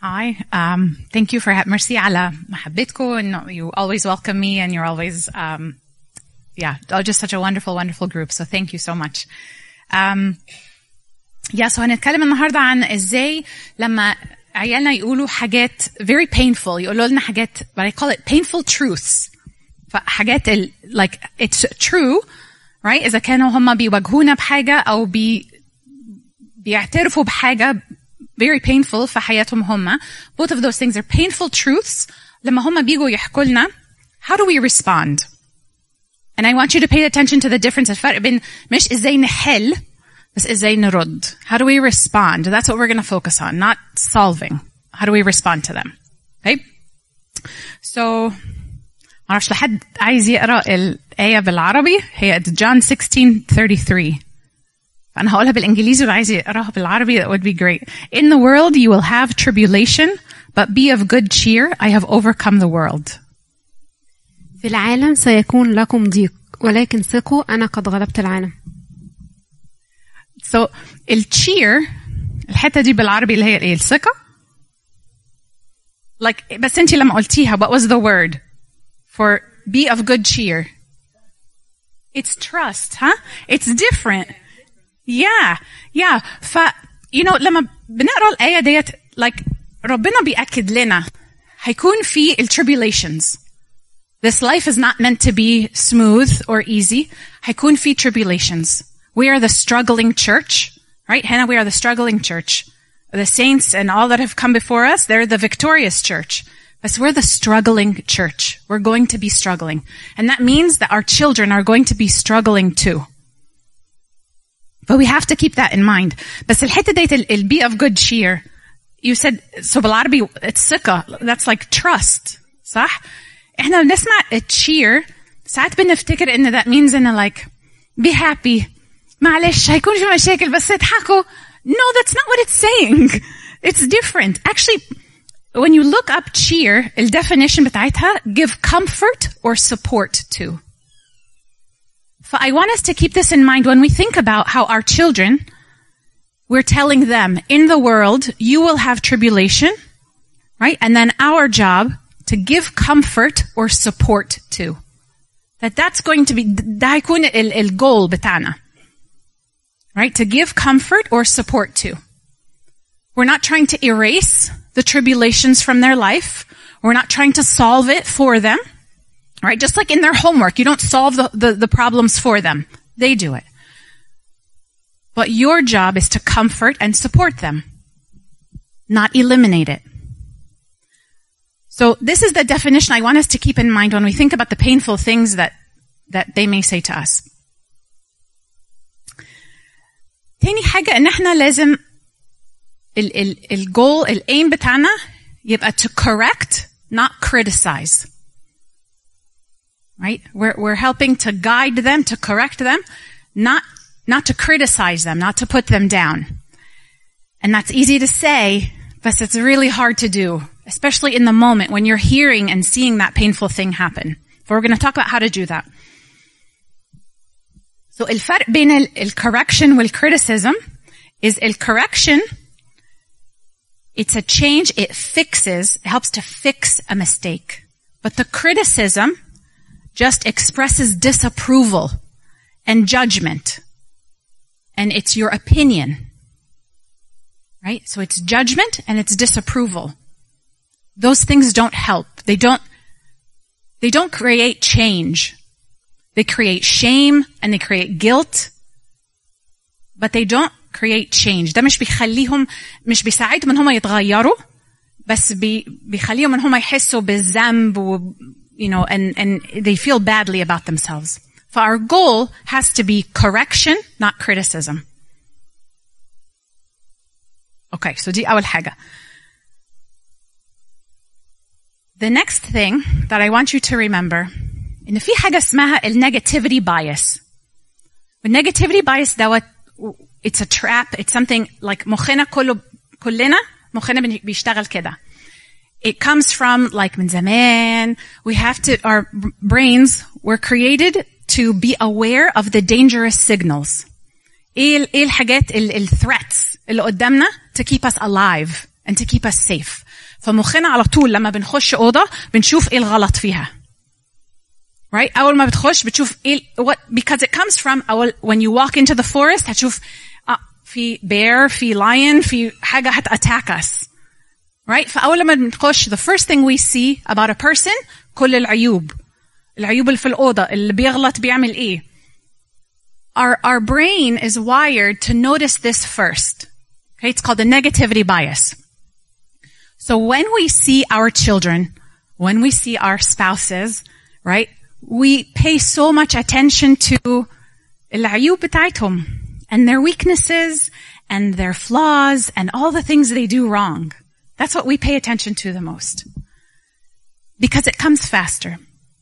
Hi. Thank you for mercy على محبتكم and you always welcome me and you're always just such a wonderful group. So thank you so much. So هنتكلم النهارده عن ازاي لما عيالنا يقولوا حاجات very painful, يقولوا لنا حاجات but I call it painful truths. فحاجات like it's true, right? إذا كانوا هم بيواجهونا بحاجة أو بيعترفوا بحاجة very painful في حياتهم هم. Both of those things are painful truths. لما هم بيجوا يحكوا لنا, how do we respond? And I want you to pay attention to the difference. الفرق بين مش إزاي نحل بس إزاي نرد. How do we respond? That's what we're going to focus on, not solving. How do we respond to them? Okay? So, معرفش لحد عايز يقرأ الآية بالعربي. هي John 16:33. فأنا هقولها بالإنجليزي وعايز يقراها بالعربي. That would be great. In the world you will have tribulation, but be of good cheer. I have overcome the world. في العالم سيكون لكم ضيق ولكن ثقوا أنا قد غلبت العالم. So الcheer الحتة دي بالعربي اللي هي ايه الثقة. Like بس انتي لما قلتيها what was the word for be of good cheer? It's trust, huh? It's different. Yeah. لما بنقرأ الآية ديت like ربنا بيأكد لنا هيكون في tribulations. This life is not meant to be smooth or easy. هيكون في tribulations. We are the struggling church, right? Hannah, we are the struggling church. The saints and all that have come before us, they're the victorious church. But we're the struggling church. We're going to be struggling. And that means that our children are going to be struggling too. But we have to keep that in mind. بس الحتة ديت be of good cheer. You said, so بالعربي, it's ثقة. That's like trust. صح? احنا بنسمع cheer. ساعات بنفتكر ان that means in like, be happy. معلش هيكون في مشاكل بس اضحكوا. No, that's not what it's saying. It's different. Actually, when you look up cheer, the definition بتاعتها give comfort or support to. So I want us to keep this in mind when we think about how our children, we're telling them, in the world, you will have tribulation, right? And then our job to give comfort or support to. That's going to be, ده هيكون الgoal بتاعنا. Right? To give comfort or support to. We're not trying to erase the tribulations from their life. We're not trying to solve it for them. Right? Just like in their homework, you don't solve the problems for them. They do it. But your job is to comfort and support them. Not eliminate it. So this is the definition I want us to keep in mind when we think about the painful things that they may say to us. تاني حاجة ان احنا لازم الجول الايم بتاعنا يبقى to correct, not criticize. Right? We're helping to guide them, to correct them, not to criticize them, not to put them down. And that's easy to say, but it's really hard to do, especially in the moment when you're hearing and seeing that painful thing happen. But we're going to talk about how to do that. So الفرق بين الcorrection والcriticism is الcorrection, it's a change, it fixes, it helps to fix a mistake. But the criticism just expresses disapproval and judgment. And it's your opinion. Right? So it's judgment and it's disapproval. Those things don't help. They don't create change. They create shame and they create guilt, but they don't create change. ده مش بيساعدهم ان هم يتغيروا, بس بيخليهم ان هم يحسوا بالذنب and they feel badly about themselves. So our goal has to be correction, not criticism. Okay, so دي أول حاجة. The next thing that I want you to remember إن في حاجة اسمها negativity bias. The negativity bias دوت, it's a trap. It's something like مخنا كلنا مخنا بيشتغل كده. It comes from like من زمان. We have to, our brains were created to be aware of the dangerous signals. إيه الحاجات threats اللي قدامنا to keep us alive and to keep us safe. فمخنا على طول لما بنخش أوضة بنشوف إيه الغلط فيها. Right? أول ما بتخش بتشوف because it comes from when you walk into the forest هتشوف في bear, في lion, في حاجة attack us. Right? فأول ما بنخش the first thing we see about a person كل العيوب اللي في الأوضة اللي بيغلط بيعمل إيه. Our brain is wired to notice this first. Okay? It's called the negativity bias. So when we see our children, when we see our spouses, right, we pay so much attention to العيوب بتاعتهم and their weaknesses and their flaws and all the things they do wrong. That's what we pay attention to the most. Because it comes faster.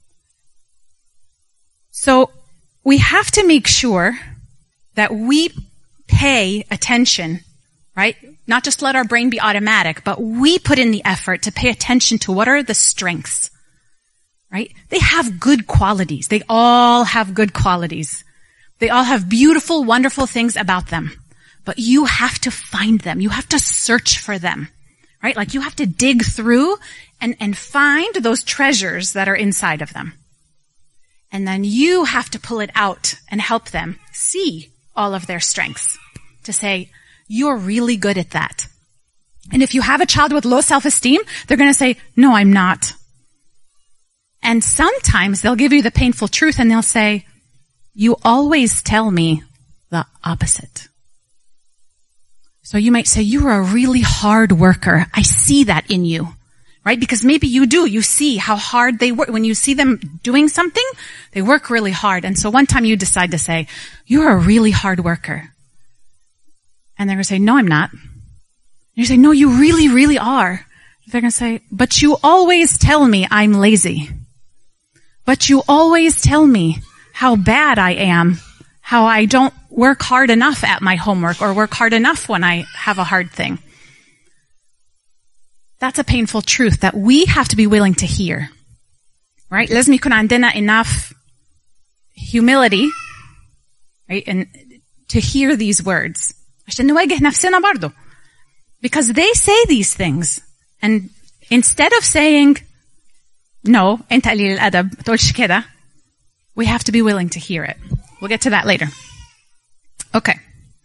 So we have to make sure that we pay attention, right? Not just let our brain be automatic, but we put in the effort to pay attention to what are the strengths, right? They have good qualities. They all have good qualities. They all have beautiful, wonderful things about them. But you have to find them. You have to search for them, right? Like you have to dig through and find those treasures that are inside of them. And then you have to pull it out and help them see all of their strengths to say, you're really good at that. And if you have a child with low self-esteem, they're going to say, no, I'm not. And sometimes they'll give you the painful truth and they'll say, you always tell me the opposite. So you might say, you're a really hard worker. I see that in you. Right? Because maybe you do. You see how hard they work. When you see them doing something, they work really hard. And so one time you decide to say, you're a really hard worker. And they're going to say, no, I'm not. And you say, no, you really, really are. They're going to say, but you always tell me I'm lazy. But you always tell me how bad I am, how I don't work hard enough at my homework or work hard enough when I have a hard thing. That's a painful truth that we have to be willing to hear. Right? لازم يكون عندنا enough humility, right? And to hear these words. عشان نواجه نفسنا برضو. Because they say these things. And instead of saying, no, أنت قليل الأدب, ما تقولش كده, we have to be willing to hear it. We'll get to that later. Okay.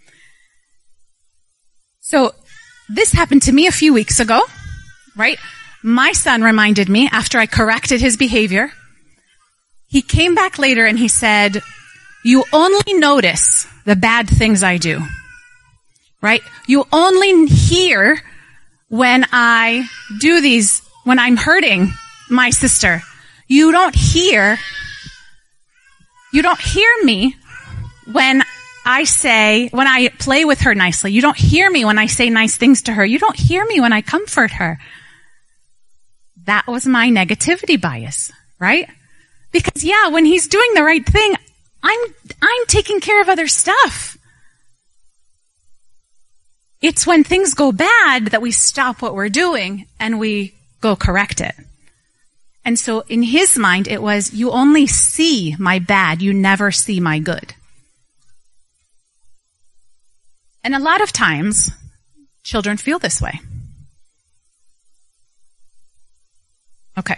So, this happened to me a few weeks ago. Right? My son reminded me after I corrected his behavior. He came back later and he said, you only notice the bad things I do. Right? You only hear when I do these, when I'm hurting my sister. You don't hear me when I play with her nicely. You don't hear me when I say nice things to her. You don't hear me when I comfort her. That was my negativity bias, right? Because yeah, when he's doing the right thing, I'm taking care of other stuff. It's when things go bad that we stop what we're doing and we go correct it. And so in his mind, it was, you only see my bad, you never see my good. And a lot of times, children feel this way. Okay.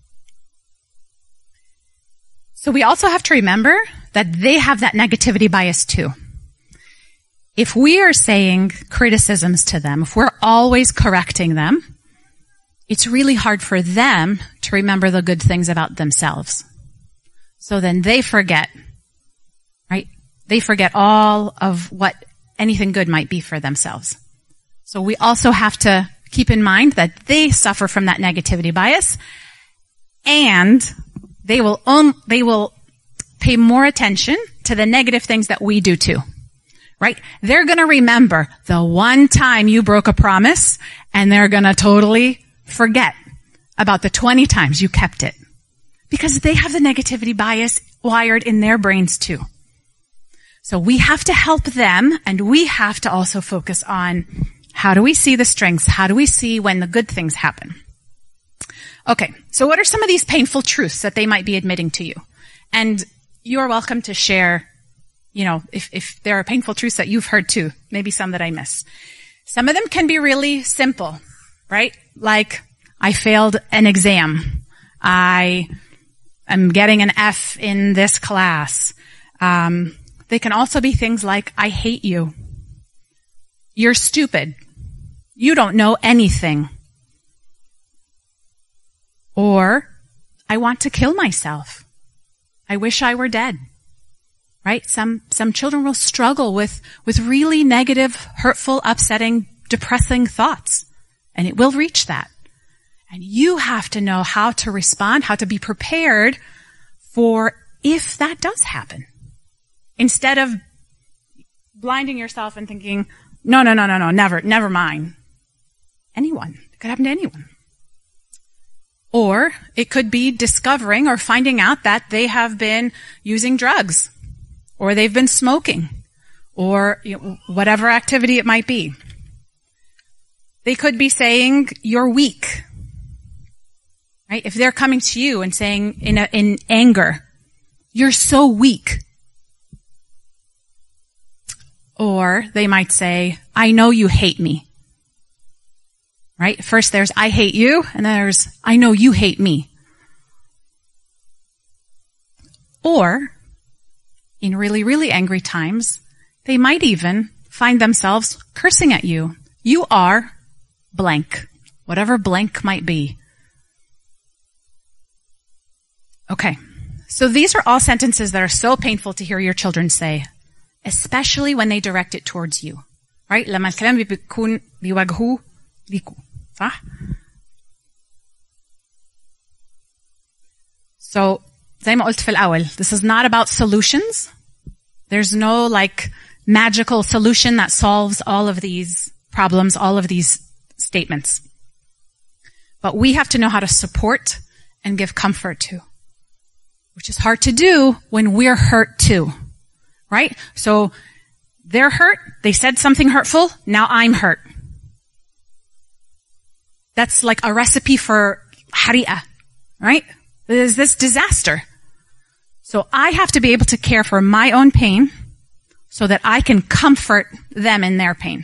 So we also have to remember that they have that negativity bias too. If we are saying criticisms to them, if we're always correcting them, it's really hard for them to remember the good things about themselves. So then they forget, right? They forget all of what anything good might be for themselves. So we also have to keep in mind that they suffer from that negativity bias, and they will pay more attention to the negative things that we do too. Right? They're gonna remember the one time you broke a promise, and they're gonna totally forget about the 20 times you kept it. Because they have the negativity bias wired in their brains too. So we have to help them, and we have to also focus on how do we see the strengths? How do we see when the good things happen? Okay, so what are some of these painful truths that they might be admitting to you? And you're welcome to share, if there are painful truths that you've heard too, maybe some that I miss. Some of them can be really simple. right? Like, I failed an exam. I am getting an F in this class. They can also be things like, I hate you. You're stupid. You don't know anything. Or, I want to kill myself. I wish I were dead. Right? Some children will struggle with really negative, hurtful, upsetting, depressing thoughts. And it will reach that. And you have to know how to respond, how to be prepared for if that does happen. Instead of blinding yourself and thinking, no, never mind. Anyone. It could happen to anyone. Or it could be discovering or finding out that they have been using drugs, or they've been smoking, or whatever activity it might be. They could be saying, you're weak. Right? If they're coming to you and saying in anger, you're so weak. Or they might say, I know you hate me. Right? First there's, I hate you, and then there's, I know you hate me. Or, in really, really angry times, they might even find themselves cursing at you. You are blank. Whatever blank might be. Okay. So these are all sentences that are so painful to hear your children say, especially when they direct it towards you. Right? لما الكلام بيكون بيواجهوه ليكوا. صح؟ So, زي ما قلت في الأول, this is not about solutions. There's no magical solution that solves all of these problems, all of these statements. But we have to know how to support and give comfort to, which is hard to do when we're hurt too. Right? So, they're hurt, they said something hurtful, now I'm hurt. That's like a recipe for hari'a, right? There's this disaster. So I have to be able to care for my own pain so that I can comfort them in their pain.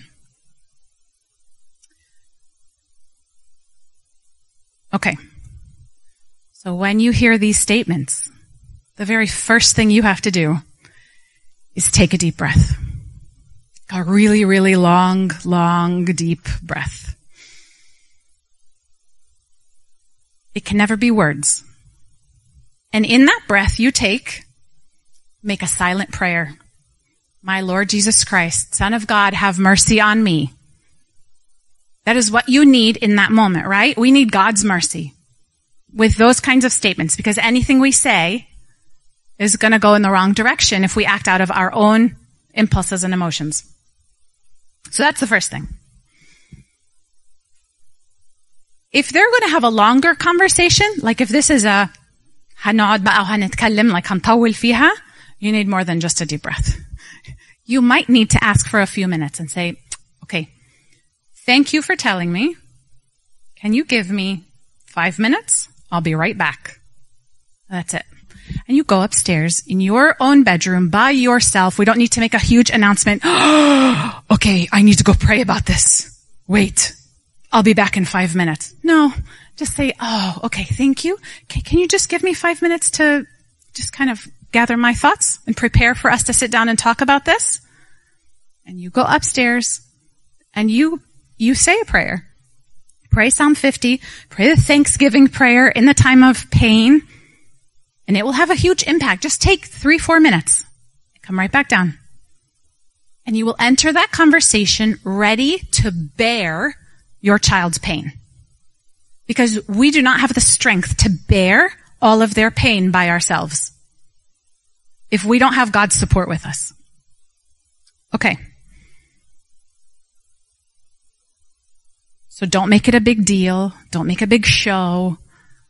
Okay. So when you hear these statements, the very first thing you have to do is take a deep breath. A really, really long, deep breath. It can never be words. And in that breath you make a silent prayer. My Lord Jesus Christ, Son of God, have mercy on me. That is what you need in that moment, right? We need God's mercy with those kinds of statements, because anything we say is going to go in the wrong direction if we act out of our own impulses and emotions. So that's the first thing. If they're going to have a longer conversation, like if this is a هنقعد بقى وهنتكلم, like هنطول فيها, you need more than just a deep breath. You might need to ask for a few minutes and say, okay, thank you for telling me. Can you give me 5 minutes? I'll be right back. That's it. And you go upstairs in your own bedroom by yourself. We don't need to make a huge announcement. Okay, I need to go pray about this. Wait, I'll be back in 5 minutes. No, just say, oh, okay, thank you. Can you just give me 5 minutes to just kind of gather my thoughts and prepare for us to sit down and talk about this? And you go upstairs and you say a prayer. Pray Psalm 50. Pray the Thanksgiving prayer in the time of pain. And it will have a huge impact. Just take 3-4 minutes. Come right back down. And you will enter that conversation ready to bear your child's pain. Because we do not have the strength to bear all of their pain by ourselves if we don't have God's support with us. Okay. So don't make it a big deal. Don't make a big show.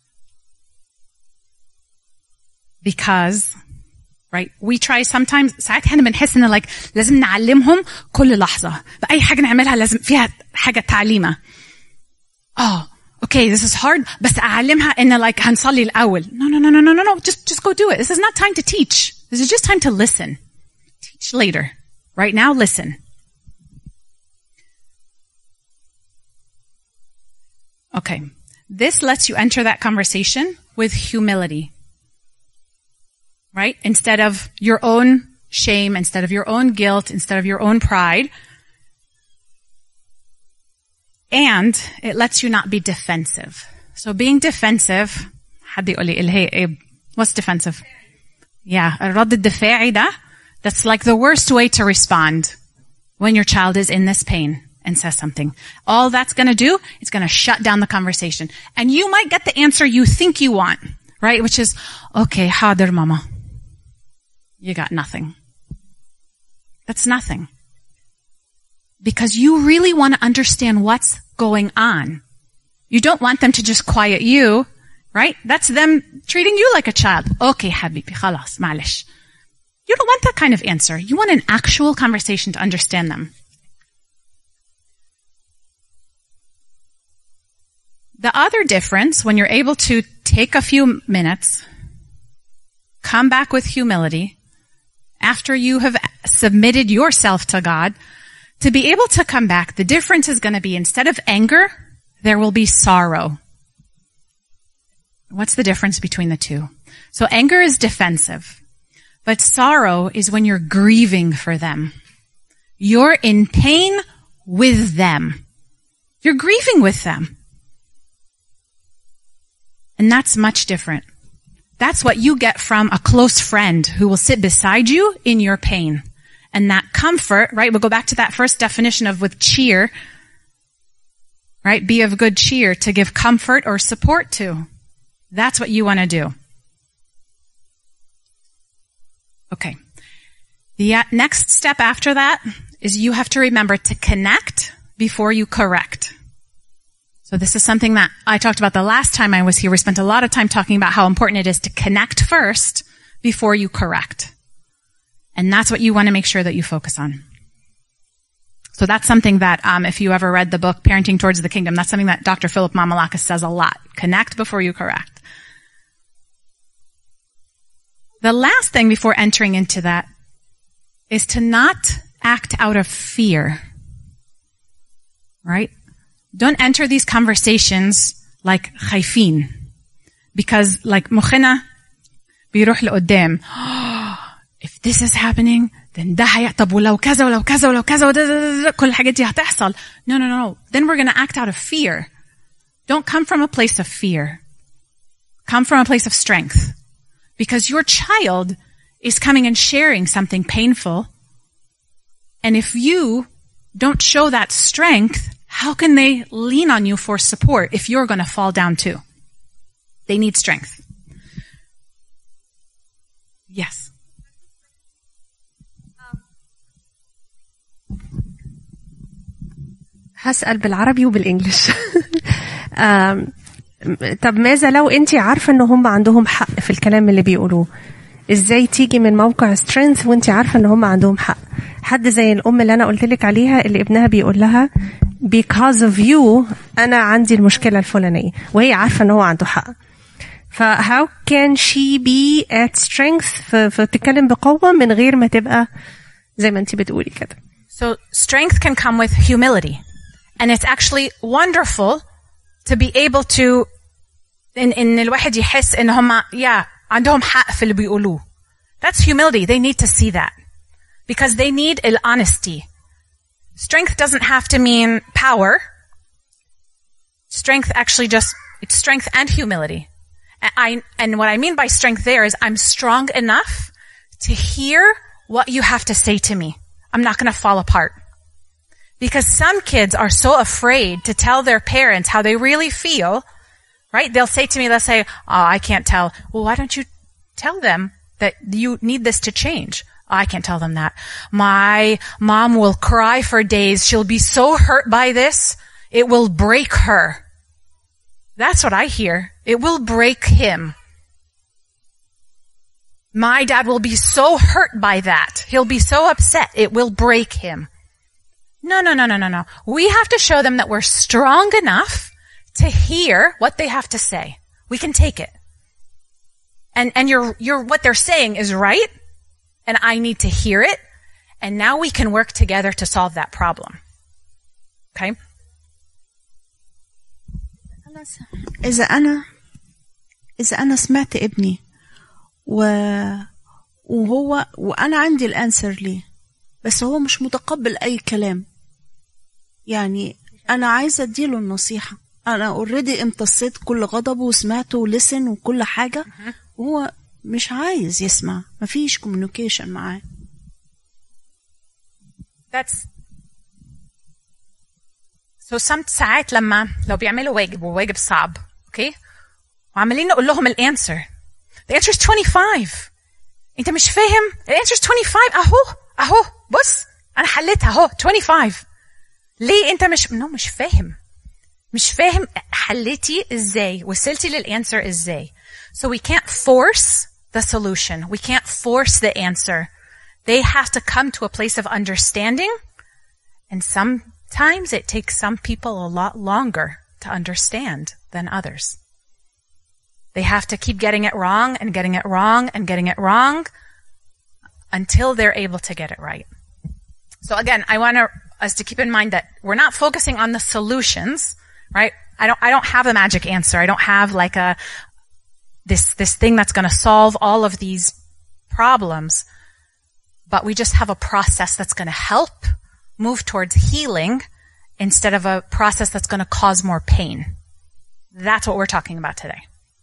Because, right, we try sometimes, ساعات احنا بنحس ان like لازم نعلمهم كل لحظة. بأي حاجة نعملها لازم فيها حاجة تعليمة. Oh, okay, this is hard, بس أعلمها إن like هنصلي الأول. No. Just go do it. This is not time to teach. This is just time to listen. Teach later. Right now, listen. Okay. This lets you enter that conversation with humility. Right? Instead of your own shame, instead of your own guilt, instead of your own pride. And it lets you not be defensive. So being defensive, حد يقول لي what's defensive? Yeah, الرد الدفاعي ده, that's like the worst way to respond when your child is in this pain and says something. All that's going to do is going to shut down the conversation. And you might get the answer you think you want, right? Which is, okay, حاضر mama. You got nothing. That's nothing. Because you really want to understand what's going on. You don't want them to just quiet you, right? That's them treating you like a child. Okay, habibi, khalas, معلش. You don't want that kind of answer. You want an actual conversation to understand them. The other difference, when you're able to take a few minutes, come back with humility, after you have submitted yourself to God, to be able to come back, the difference is going to be instead of anger, there will be sorrow. What's the difference between the two? So anger is defensive, but sorrow is when you're grieving for them. You're in pain with them. You're grieving with them. And that's much different. That's what you get from a close friend who will sit beside you in your pain. And that comfort, right? We'll go back to that first definition of with cheer, right? Be of good cheer, to give comfort or support to. That's what you want to do. Okay. The next step after that is you have to remember to connect before you correct. So this is something that I talked about the last time I was here. We spent a lot of time talking about how important it is to connect first before you correct. And that's what you want to make sure that you focus on. So that's something that, if you ever read the book, Parenting Towards the Kingdom, that's something that Dr. Philip Mamalakis says a lot. Connect before you correct. The last thing before entering into that is to not act out of fear. Right? Don't enter these conversations like خايفين. Because like مخنا بيروح لقدام. If this is happening, then ده طب ولو كذا ولو كذا ولو كذا كل الحاجات دي هتحصل. No. Then we're going to act out of fear. Don't come from a place of fear. Come from a place of strength. Because your child is coming and sharing something painful. And if you don't show that strength, how can they lean on you for support if you're going to fall down too? They need strength. Yes. هسأل بالعربي وبالإنجليش. طب ماذا لو أنتي عارفة إن هم عندهم حق في الكلام اللي بيقولوه؟ إزاي تيجي من موقع strength وأنتي عارفة إن هم عندهم حق؟ حد زي الأم اللي أنا قلتلك عليها اللي ابنها بيقول لها because of you أنا عندي المشكلة الفلانية وهي عارفة إن هو عنده حق. how can she be at strength فتتكلم بقوة من غير ما تبقى زي ما أنتي بتقولي كده. So strength can come with humility. And it's actually wonderful to be able to إن الواحد يحس إن هم عندهم حق في اللي بيقولوه. That's humility. They need to see that. Because they need honesty. Strength doesn't have to mean power. Strength actually it's strength and humility. And what I mean by strength there is I'm strong enough to hear what you have to say to me. I'm not going to fall apart. Because some kids are so afraid to tell their parents how they really feel, right? They'll say to me, let's say, I can't tell. Well, why don't you tell them that you need this to change? I can't tell them that. My mom will cry for days. She'll be so hurt by this. It will break her. That's what I hear. It will break him. My dad will be so hurt by that. He'll be so upset. It will break him. No. We have to show them that we're strong enough to hear what they have to say. We can take it. And what they're saying is right. And I need to hear it. And now we can work together to solve that problem. Okay? إذا أنا سمعت ابني وأنا عندي الأنسر ليه، بس هو مش متقبل أي كلام، يعني أنا عايزة أديله النصيحة. أنا already امتصيت كل غضبه وسمعته ولسن وكل حاجة، وهو مش عايز يسمع، مفيش communication معاه. ساعات لو بيعملوا واجب وواجب صعب، اوكي، وعمالين نقول لهم الانسر، the answer is 25. انت مش فاهم the answer is 25. اهو بص انا حليتها اهو 25. ليه انت مش فاهم حليتي ازاي، وصلتي للانسر ازاي. So we can't force the solution, we can't force the answer. They have to come to a place of understanding, and sometimes it takes some people a lot longer to understand than others. They have to keep getting it wrong and getting it wrong and getting it wrong until they're able to get it right. So again, I want us to keep in mind that we're not focusing on the solutions, right? I don't have a magic answer. I don't have like this thing that's going to solve all of these problems, but we just have a process that's going to help move towards healing instead of a process that's going to cause more pain. That's what we're talking about today.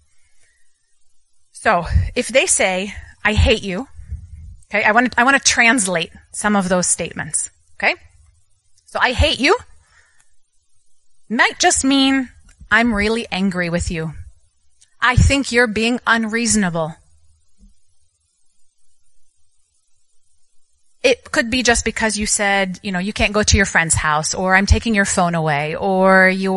So if they say, I hate you, okay, I want to translate some of those statements, okay? So I hate you might just mean I'm really angry with you. I think you're being unreasonable. It could be just because you said, you can't go to your friend's house, or I'm taking your phone away, or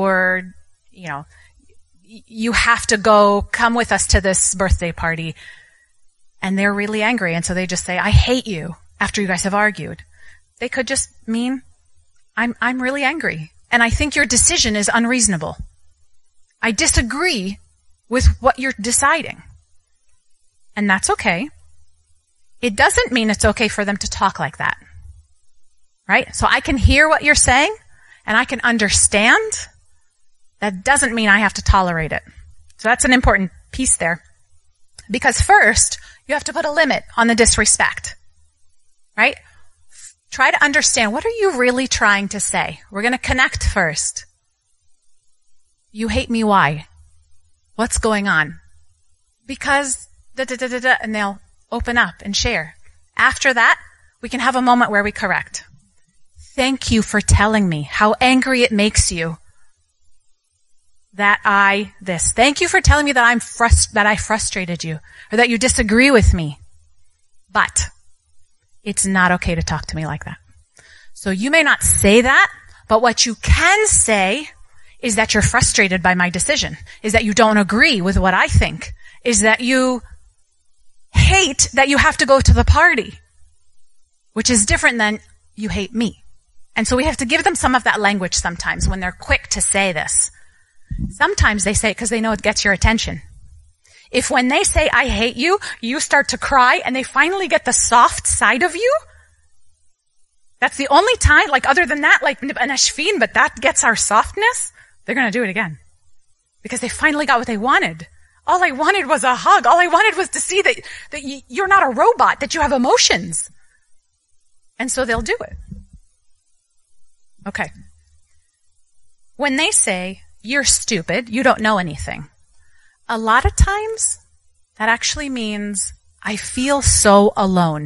you have to come with us to this birthday party. And they're really angry. And so they just say, I hate you after you guys have argued. They could just mean, I'm really angry. And I think your decision is unreasonable. I disagree with what you're deciding. And that's okay. It doesn't mean it's okay for them to talk like that. Right? So I can hear what you're saying and I can understand. That doesn't mean I have to tolerate it. So that's an important piece there. Because first, you have to put a limit on the disrespect. Right? Try to understand, what are you really trying to say? We're going to connect first. You hate me, why? What's going on? Because and they'll open up and share. After that, we can have a moment where we correct. Thank you for telling me how angry it makes you that Thank you for telling me that I frustrated you, or that you disagree with me. But it's not okay to talk to me like that. So you may not say that, but what you can say is that you're frustrated by my decision, is that you don't agree with what I think, is that you hate that you have to go to the party, which is different than you hate me. And so we have to give them some of that language sometimes when they're quick to say this. Sometimes they say it because they know it gets your attention. If when they say, I hate you, you start to cry and they finally get the soft side of you, that's the only time, like other than that, like anashfin, but that gets our softness, they're going to do it again. Because they finally got what they wanted. All I wanted was a hug. All I wanted was to see that you're not a robot, that you have emotions. And so they'll do it. Okay. When they say, you're stupid, you don't know anything, a lot of times that actually means I feel so alone.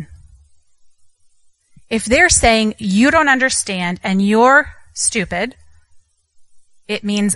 If they're saying you don't understand and you're stupid, it means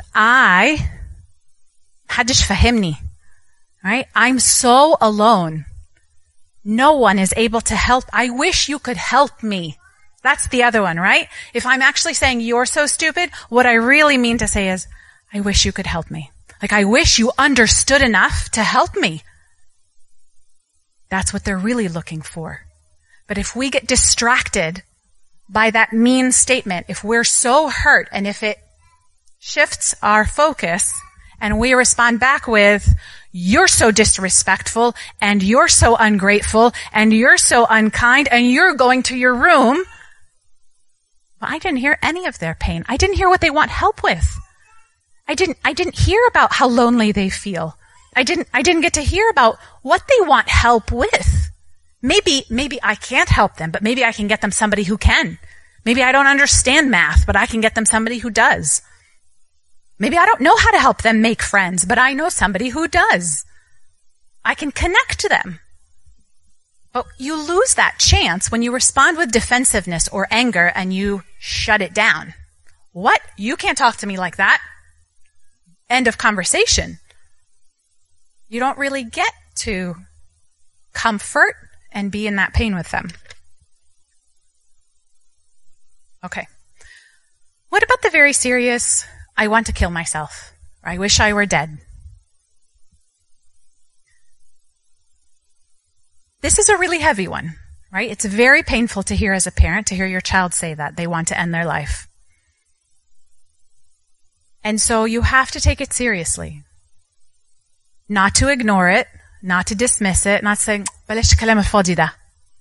محدش فهمني, right? I'm so alone. No one is able to help. I wish you could help me. That's the other one, right? If I'm actually saying you're so stupid, what I really mean to say is, I wish you could help me. Like, I wish you understood enough to help me. That's what they're really looking for. But if we get distracted by that mean statement, if we're so hurt, and if it shifts our focus, and we respond back with, you're so disrespectful, and you're so ungrateful, and you're so unkind, and you're going to your room, well, I didn't hear any of their pain. I didn't hear what they want help with. I didn't hear about how lonely they feel. I didn't get to hear about what they want help with. Maybe I can't help them, but maybe I can get them somebody who can. Maybe I don't understand math, but I can get them somebody who does. Maybe I don't know how to help them make friends, but I know somebody who does. I can connect to them. But you lose that chance when you respond with defensiveness or anger and you shut it down. What? You can't talk to me like that. End of conversation. You don't really get to comfort and be in that pain with them. Okay. What about the very serious, I want to kill myself, or I wish I were dead? This is a really heavy one, right? It's very painful to hear as a parent, to hear your child say that they want to end their life. And so you have to take it seriously. Not to ignore it, not to dismiss it, not saying, بلاش الكلام الفاضي ده.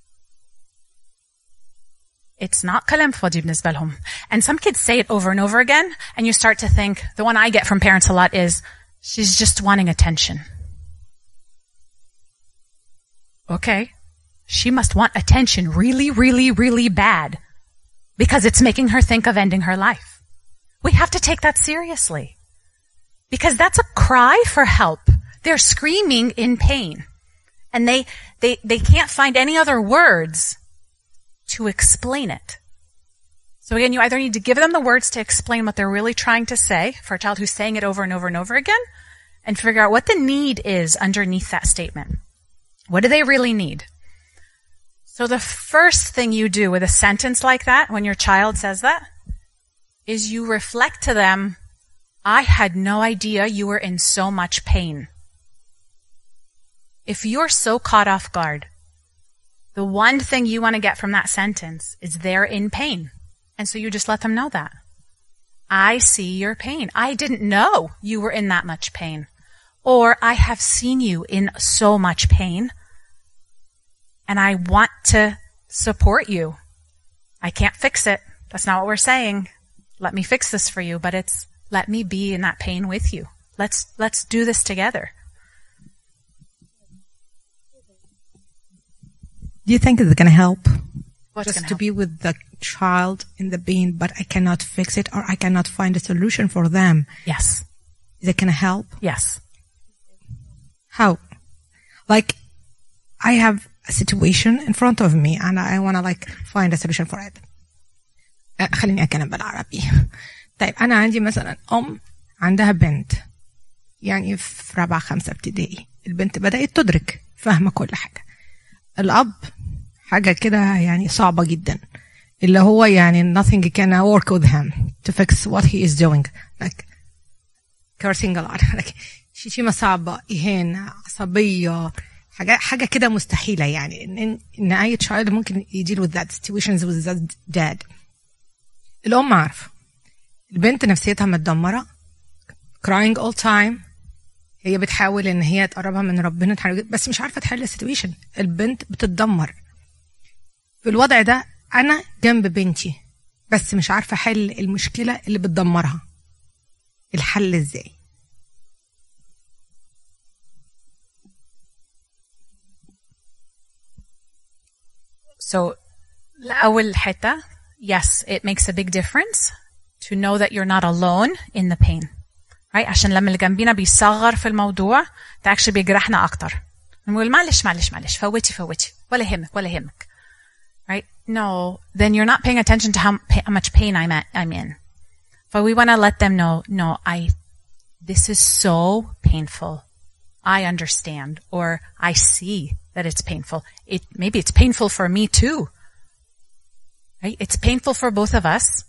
It's not كلام فاضي بالنسبة لهم. And some kids say it over and over again, and you start to think, the one I get from parents a lot is, she's just wanting attention. Okay. She must want attention really, really, really bad, because it's making her think of ending her life. We have to take that seriously, because that's a cry for help. They're screaming in pain, and they can't find any other words to explain it. So again, you either need to give them the words to explain what they're really trying to say for a child who's saying it over and over and over again, and figure out what the need is underneath that statement. What do they really need? So the first thing you do with a sentence like that, when your child says that, is you reflect to them, I had no idea you were in so much pain. If you're so caught off guard, the one thing you want to get from that sentence is they're in pain. And so you just let them know that. I see your pain. I didn't know you were in that much pain. Or I have seen you in so much pain, and I want to support you. I can't fix it. That's not what we're saying. Let me fix this for you, but it's let me be in that pain with you. Let's do this together. Do you think it's going to help? What's Just gonna to help? be with the child in the pain, but I cannot fix it, or I cannot find a solution for them. Yes. Is it going to help? Yes. How? Like, I have a situation in front of me and I want to like find a solution for it. خليني أتكلم بالعربي. طيب أنا عندي مثلا عندها بنت يعني في رابعة 5 ابتدائي. البنت بدأت تدرك فاهمة كل حاجة. الأب حاجة كده يعني صعبة جدا. اللي هو يعني nothing can work with him to fix what he is doing. Like cursing a lot. Like شتيمة صعبة، إهانة، عصبية، حاجة كده مستحيلة يعني إن أي child ممكن يديل with that situations with that dad. الأم عارفة البنت نفسيتها متدمرة crying all time. هي بتحاول إن هي تقربها من ربنا بس مش عارفة تحل السيتويشن. البنت بتتدمر. في الوضع ده أنا جنب بنتي بس مش عارفة حل المشكلة اللي بتدمرها. الحل إزاي؟ So, أول حتة, yes, it makes a big difference to know that you're not alone in the pain. Right? عشان لما اللي جنبينا بيصغر في الموضوع ده actually بيجرحنا أكتر. نقول معلش فوتي ولا يهمك. Right? No, then you're not paying attention to how much pain I'm in. But we want to let them know, no, this is so painful. I understand, or I see that it's painful. Maybe it's painful for me too. Right? It's painful for both of us.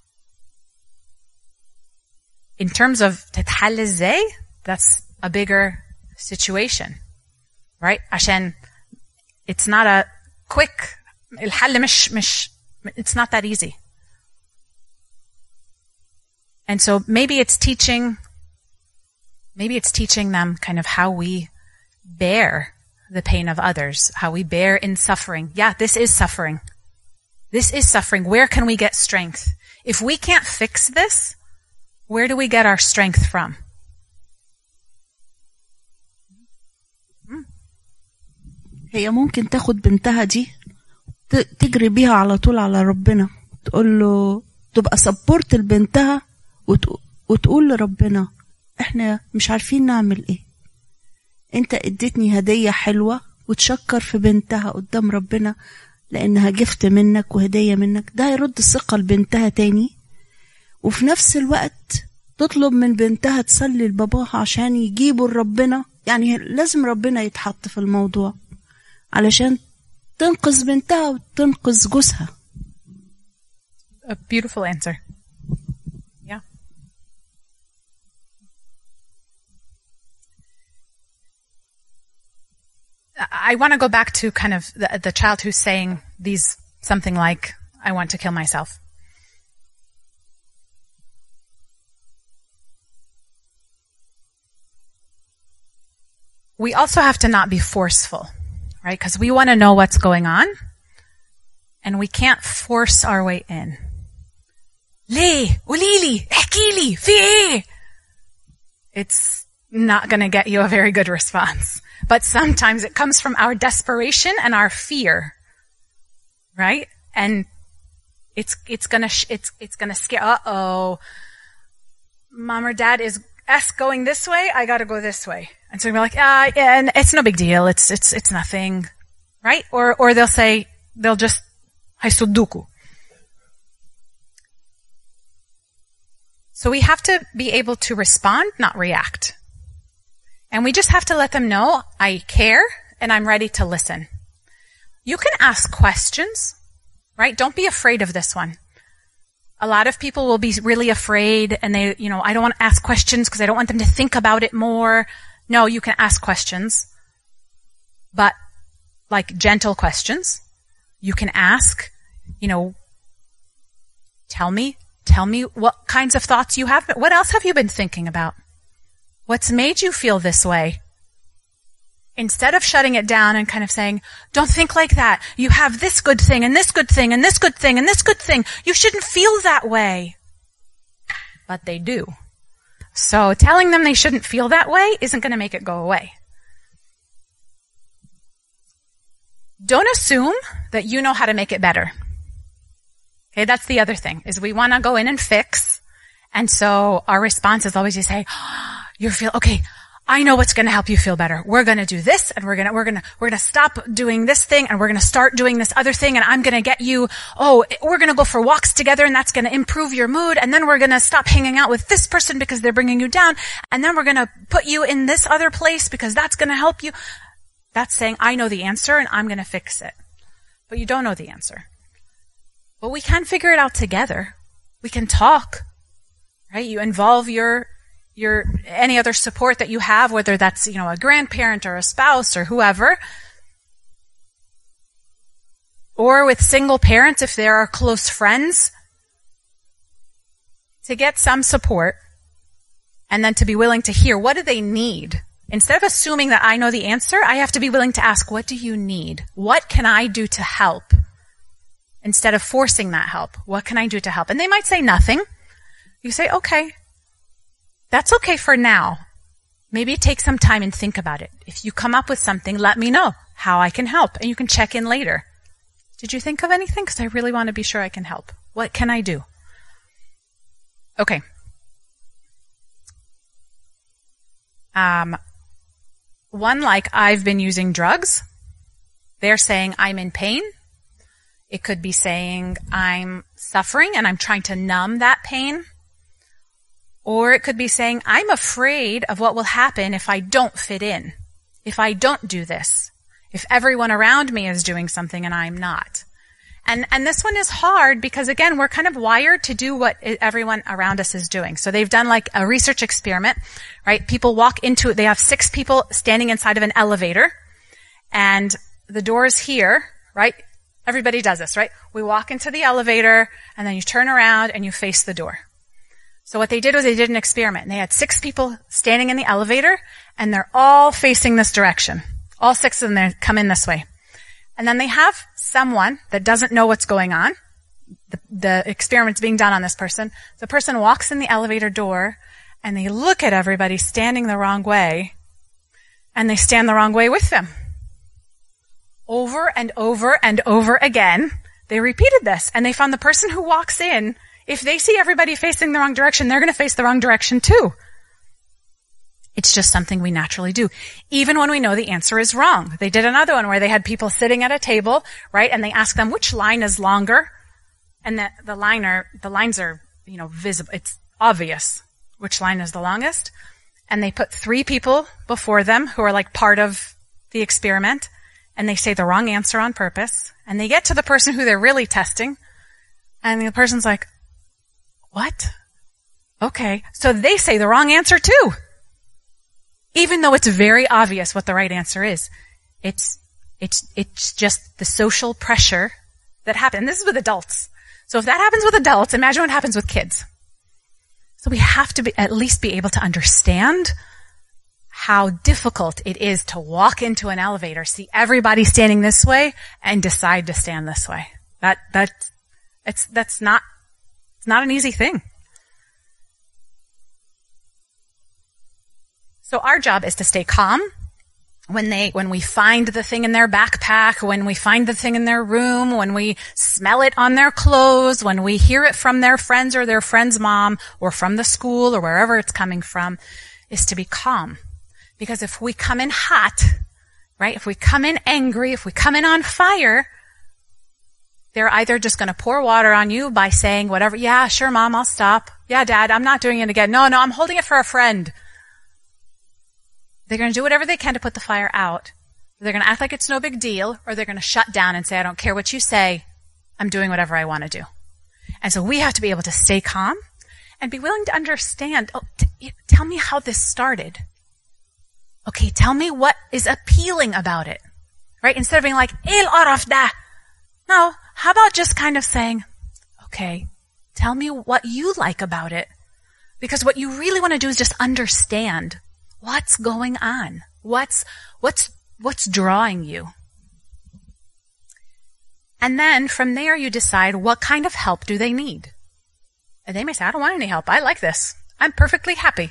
In terms of تتحل ازاي, that's a bigger situation. Right? عشان it's not a quick, الحل مش it's not that easy. And so maybe it's teaching them kind of how we bear the pain of others, how we bear in suffering. Yeah, this is suffering. This is suffering. Where can we get strength? If we can't fix this, Where do we get our strength from? هي ممكن تاخد بنتها دي تجري بيها على طول على ربنا، تقول له، تبقى سبورت لبنتها وتقول لربنا احنا مش عارفين نعمل ايه، انت اديتني هدية حلوة، وتشكر في بنتها قدام ربنا لانها جفت منك وهدية منك. ده هيرد الثقة لبنتها تاني. وفي نفس الوقت تطلب من بنتها تصلي لباباها عشان يجيبوا لربنا. يعني لازم ربنا يتحط في الموضوع علشان تنقذ بنتها وتنقذ جوزها. A beautiful answer. Yeah. I want to go back to kind of the child who's saying something like, I want to kill myself. We also have to not be forceful, right? Because we want to know what's going on, and we can't force our way in. ليه؟ قوليلي، احكيلي، في ايه? It's not going to get you a very good response. But sometimes it comes from our desperation and our fear, right? And it's gonna scare. Uh-oh, mom or dad is going this way. I gotta go this way. And so we're like, yeah, and it's no big deal. It's nothing, right? Or they'll just haisuduku. So we have to be able to respond, not react. And we just have to let them know, I care and I'm ready to listen. You can ask questions, right? Don't be afraid of this one. A lot of people will be really afraid and I don't want to ask questions because I don't want them to think about it more. No, you can ask questions, but like gentle questions. You can ask, tell me what kinds of thoughts you have. What else have you been thinking about? What's made you feel this way? Instead of shutting it down and kind of saying, don't think like that. You have this good thing and this good thing and this good thing and this good thing. You shouldn't feel that way. But they do. So telling them they shouldn't feel that way isn't going to make it go away. Don't assume that you know how to make it better. Okay, that's the other thing, is we want to go in and fix. And so our response is always to say, okay, I know what's going to help you feel better. We're going to do this, and we're going to stop doing this thing, and we're going to start doing this other thing, and I'm going to get you, we're going to go for walks together, and that's going to improve your mood, and then we're going to stop hanging out with this person because they're bringing you down, and then we're going to put you in this other place because that's going to help you. That's saying, I know the answer, and I'm going to fix it. But you don't know the answer. But we can figure it out together. We can talk, right? You involve your any other support that you have, whether that's, a grandparent or a spouse or whoever, or with single parents if there are close friends, to get some support and then to be willing to hear, what do they need? Instead of assuming that I know the answer, I have to be willing to ask, what do you need? What can I do to help? Instead of forcing that help, what can I do to help? And they might say nothing. You say, okay. That's okay for now. Maybe take some time and think about it. If you come up with something, let me know how I can help, and you can check in later. Did you think of anything? Because I really want to be sure I can help. What can I do? Okay. One, like, I've been using drugs. They're saying I'm in pain. It could be saying I'm suffering and I'm trying to numb that pain. Or it could be saying, I'm afraid of what will happen if I don't fit in, if I don't do this, if everyone around me is doing something and I'm not. And this one is hard because, again, we're kind of wired to do what everyone around us is doing. So they've done like a research experiment, right? People walk into it. They have 6 people standing inside of an elevator, and the door is here, right? Everybody does this, right? We walk into the elevator, and then you turn around and you face the door. So what they did was they did an experiment, and they had 6 people standing in the elevator, and they're all facing this direction. All 6 of them come in this way. And then they have someone that doesn't know what's going on, the experiment's being done on this person. The person walks in the elevator door and they look at everybody standing the wrong way and they stand the wrong way with them. Over and over and over again, they repeated this and they found the person who walks in, if they see everybody facing the wrong direction, they're going to face the wrong direction too. It's just something we naturally do, even when we know the answer is wrong. They did another one where they had people sitting at a table, right? And they asked them which line is longer. And the lines are, visible. It's obvious which line is the longest. And they put 3 people before them who are like part of the experiment. And they say the wrong answer on purpose. And they get to the person who they're really testing. And the person's like, what? Okay. So they say the wrong answer too. Even though it's very obvious what the right answer is. It's just the social pressure that happens. And this is with adults. So if that happens with adults, imagine what happens with kids. So we have to at least be able to understand how difficult it is to walk into an elevator, see everybody standing this way, and decide to stand this way. It's not an easy thing. So our job is to stay calm when we find the thing in their backpack, when we find the thing in their room, when we smell it on their clothes, when we hear it from their friends or their friend's mom or from the school or wherever it's coming from, is to be calm. Because if we come in hot, right, if we come in angry, if we come in on fire, they're either just going to pour water on you by saying whatever, yeah, sure, Mom, I'll stop. Yeah, Dad, I'm not doing it again. No, I'm holding it for a friend. They're going to do whatever they can to put the fire out. They're going to act like it's no big deal, or they're going to shut down and say, I don't care what you say. I'm doing whatever I want to do. And so we have to be able to stay calm and be willing to understand. Oh, tell me how this started. Okay, tell me what is appealing about it. Right? Instead of being like, il araf da. No, how about just kind of saying, okay, tell me what you like about it. Because what you really want to do is just understand what's going on. What's drawing you? And then from there you decide what kind of help do they need. And they may say, I don't want any help. I like this. I'm perfectly happy.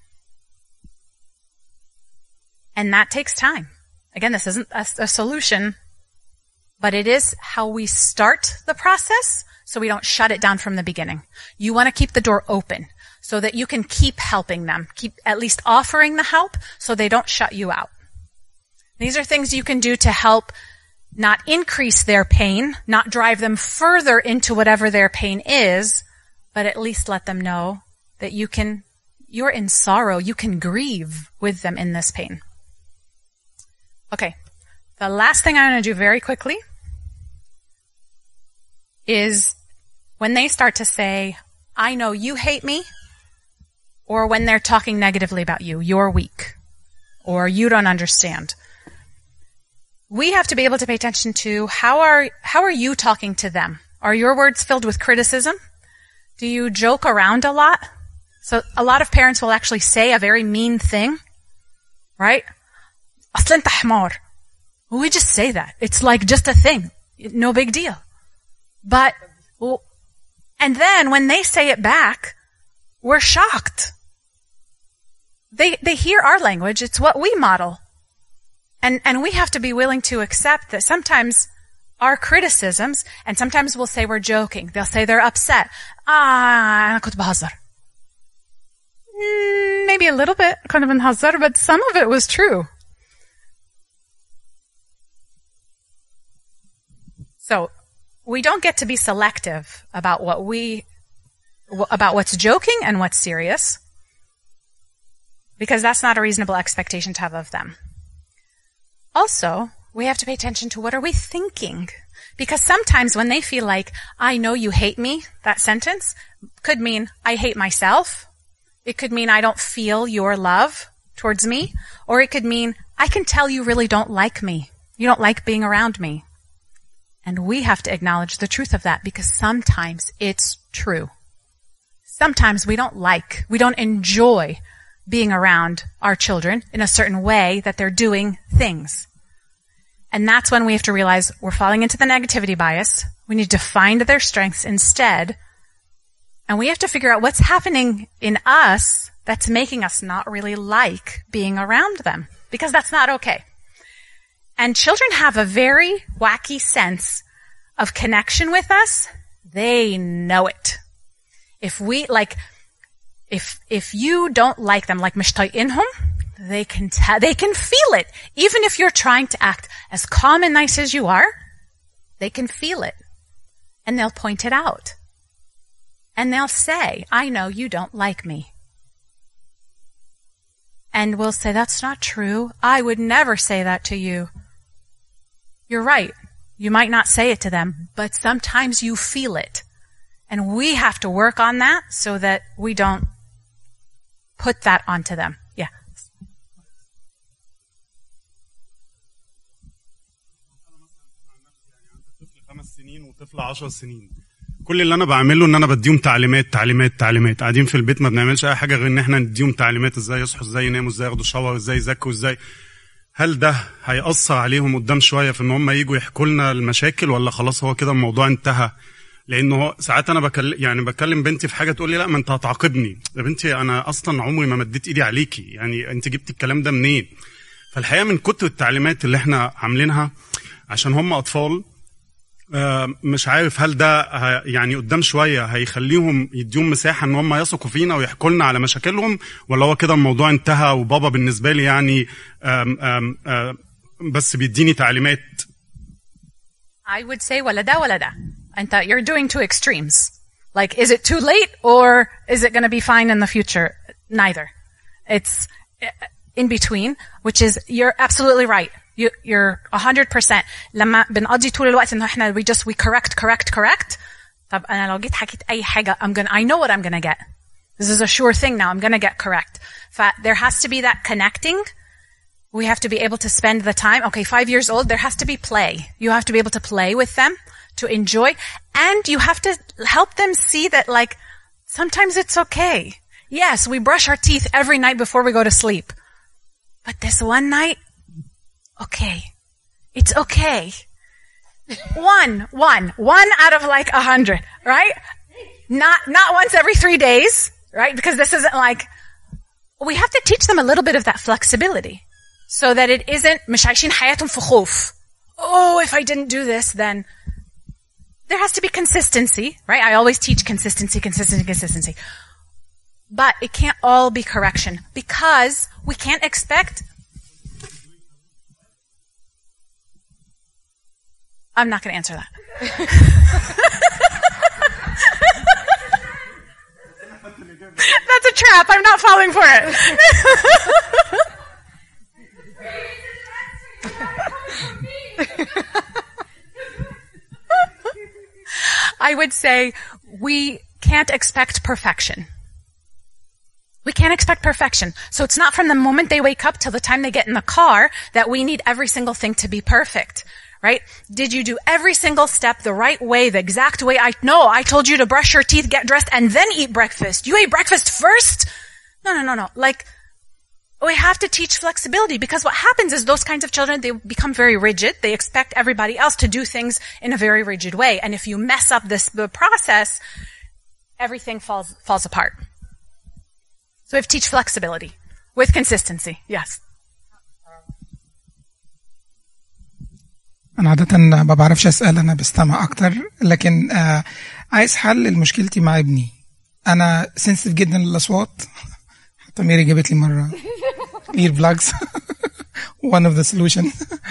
And that takes time. Again, this isn't a solution, but it is how we start the process so we don't shut it down from the beginning. You want to keep the door open so that you can keep helping them, keep at least offering the help so they don't shut you out. These are things you can do to help not increase their pain, not drive them further into whatever their pain is, but at least let them know that you're in sorrow, you can grieve with them in this pain. Okay, the last thing I'm going to do very quickly is when they start to say, I know you hate me, or when they're talking negatively about you, you're weak, or you don't understand. We have to be able to pay attention to how are you talking to them? Are your words filled with criticism? Do you joke around a lot? So a lot of parents will actually say a very mean thing, right? أصل أنت حمار. We just say that. It's like just a thing. No big deal. And then when they say it back, we're shocked. They hear our language. It's what we model. And we have to be willing to accept that sometimes our criticisms, and sometimes we'll say we're joking. They'll say they're upset. أنا كنت بهزر. Maybe a little bit, كنا بنهزر, but some of it was true. So we don't get to be selective about what's joking and what's serious, because that's not a reasonable expectation to have of them. Also, we have to pay attention to what are we thinking, because sometimes when they feel like, I know you hate me, that sentence could mean I hate myself. It could mean I don't feel your love towards me, or it could mean I can tell you really don't like me. You don't like being around me. And we have to acknowledge the truth of that, because sometimes it's true. Sometimes we don't enjoy being around our children in a certain way that they're doing things. And that's when we have to realize we're falling into the negativity bias. We need to find their strengths instead. And we have to figure out what's happening in us that's making us not really like being around them, because that's not okay. And children have a very wacky sense of connection with us. They know it. If we, like, if you don't like them, like مش طايقينهم, they can feel it. Even if you're trying to act as calm and nice as you are, they can feel it. And they'll point it out. And they'll say, I know you don't like me. And we'll say, that's not true. I would never say that to you. You're right. You might not say it to them, but sometimes you feel it. And we have to work on that so that we don't put that onto them. Yeah. طفل 5 سنين وطفل 10 سنين. كل اللي انا بعمله ان انا بديهم تعليمات. قاعدين في البيت ما بنعملش اي حاجه غير ان احنا نديهم تعليمات، ازاي يصحوا، ازاي يناموا، ازاي ياخدوا شاور، ازاي يذاكروا، ازاي. هل ده هيأثر عليهم قدام شويه في ان هم يجوا يحكوا لنا المشاكل، ولا خلاص هو كده الموضوع انتهى؟ لانه ساعات انا بكلم بنتي في حاجه تقول لي لا ما انت هتعاقبني. يا بنتي انا اصلا عمري ما مديت ايدي عليكي، يعني انت جبتي الكلام ده منين؟ فالحقيقه من كتر التعليمات اللي احنا عاملينها عشان هم اطفال، مش عارف هل ده يعني قدام شويه هيخليهم يديهم مساحه ان هم يثقوا فينا ويحكوا لنا على مشاكلهم، ولا هو كده الموضوع انتهى وبابا بالنسبه لي يعني بس بيديني تعليمات. I would say ولا ده. And you're doing two extremes. Like, is it too late or is it going to be fine in the future? Neither. It's in between, which is, you're absolutely right. You're 100%. لما بنقضي طول الوقت إنه إحنا we correct. طب أنا لو جيت حكيت أي حاجة, I know what I'm gonna get. This is a sure thing now. I'm gonna get correct. There has to be that connecting. We have to be able to spend the time. Okay, 5 years old, there has to be play. You have to be able to play with them, to enjoy, and you have to help them see that, like, sometimes it's okay. Yes, we brush our teeth every night before we go to sleep. But this one night, okay. It's okay. One out of like 100, right? Not once every 3 days, right? Because this isn't like, we have to teach them a little bit of that flexibility so that it isn't مش عايشين حياتهم في خوف. Oh, if I didn't do this, then there has to be consistency, right? I always teach consistency. But it can't all be correction because we can't expect. I'm not going to answer that. That's a trap. I'm not falling for it. I would say we can't expect perfection. We can't expect perfection. So it's not from the moment they wake up till the time they get in the car that we need every single thing to be perfect. Right? Did you do every single step the right way, the exact way? I told you to brush your teeth, get dressed, and then eat breakfast. You ate breakfast first? No. Like, we have to teach flexibility because what happens is those kinds of children, they become very rigid. They expect everybody else to do things in a very rigid way. And if you mess up the process, everything falls apart. So we have to teach flexibility with consistency. Yes. أنا عادة ما بعرفش أسأل، أنا بستمع أكتر، لكن عايز حل لمشكلتي مع ابني. أنا سنسيتيف جدا للأصوات، حتى ميري جابت لي مرة ear plugs one of the solution.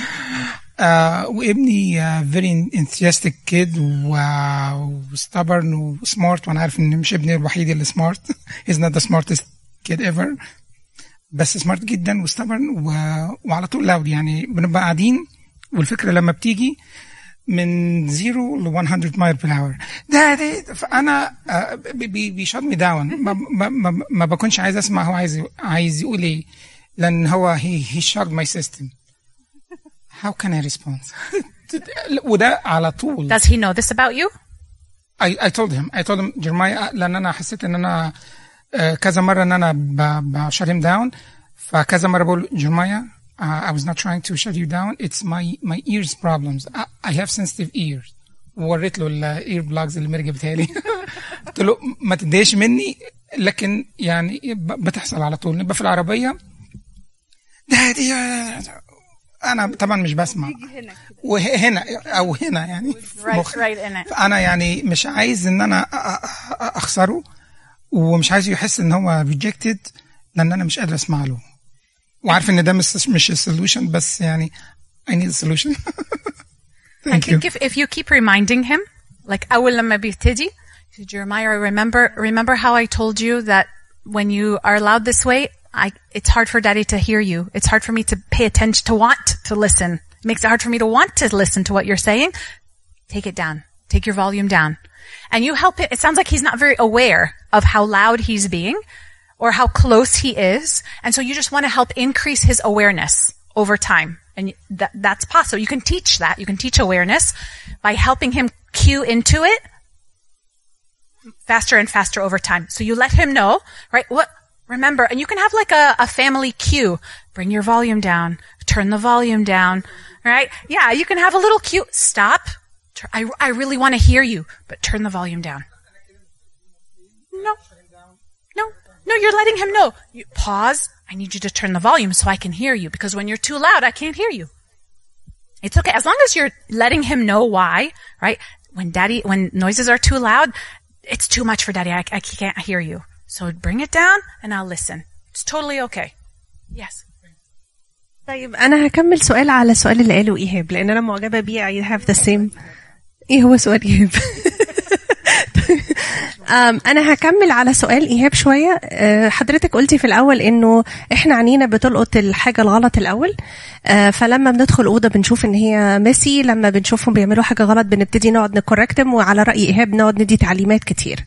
وابني very enthusiastic kid stubborn و smart، وأنا عارف إن مش ابني الوحيد اللي smart. he's not the smartest kid ever، بس smart جدا و stubborn وعلى طول loud. يعني بنبقى قاعدين والفكرة لما بتيجي من 0 ل 100 مايل بير اور ده فأنا بيشوت مي داون. ما بكونش عايز أسمع هو عايز يقول إيه، لأن هو he shocked my system. How can I respond؟ وده على طول. Does he know this about you؟ I told him جرمايا، لأن أنا حسيت إن أنا كذا مرة إن أنا بشut him down، فكذا مرة بقول جرمايا I was not trying to shut you down. It's my ears problems. I have sensitive ears. ووريت له الاير بلاجز اللي مرجع بتهالي. قلت له ما تتضايقش مني، لكن يعني بتحصل على طول. نبقى في العربيه دي انا طبعا مش بسمع، وهنا او هنا يعني انا يعني مش عايز ان انا اخسره، ومش عايز يحس ان هو rejected لان انا مش قادر اسمع له، وعارف ان ده مش السولوشن، بس يعني I need a solution. I think if you keep reminding him, like أول لما بيبتدي, Jeremiah, remember how I told you that when you are loud this way, it's hard for daddy to hear you. It's hard for me to pay attention, to want to listen. It makes it hard for me to want to listen to what you're saying. Take it down. Take your volume down. And you help it. It sounds like he's not very aware of how loud he's being or how close he is. And so you just want to help increase his awareness over time. And that's possible. You can teach that. You can teach awareness by helping him cue into it faster and faster over time. So you let him know, right? Remember, and you can have like a family cue. Bring your volume down. Turn the volume down. Right? Yeah, you can have a little cue. Stop. I really want to hear you, but turn the volume down. No, you're letting him know. You pause. I need you to turn the volume so I can hear you, because when you're too loud, I can't hear you. It's okay. As long as you're letting him know why, right? When noises are too loud, it's too much for daddy. I can't hear you. So bring it down and I'll listen. It's totally okay. Yes. طيب أنا هكمل سؤال على السؤال اللي قاله إيهاب، لأن أنا معجبة بيه. I have the same. إيه هو سؤال إيهاب؟ أنا هكمل على سؤال إيهاب شوية. حضرتك قلتي في الأول إنه إحنا عنينا بتلقط الحاجة الغلط الأول، فلما بندخل أوضة بنشوف إن هي ميسي، لما بنشوفهم بيعملوا حاجة غلط بنبتدي نقعد نكوركتم، وعلى رأي إيهاب نقعد ندي تعليمات كتير.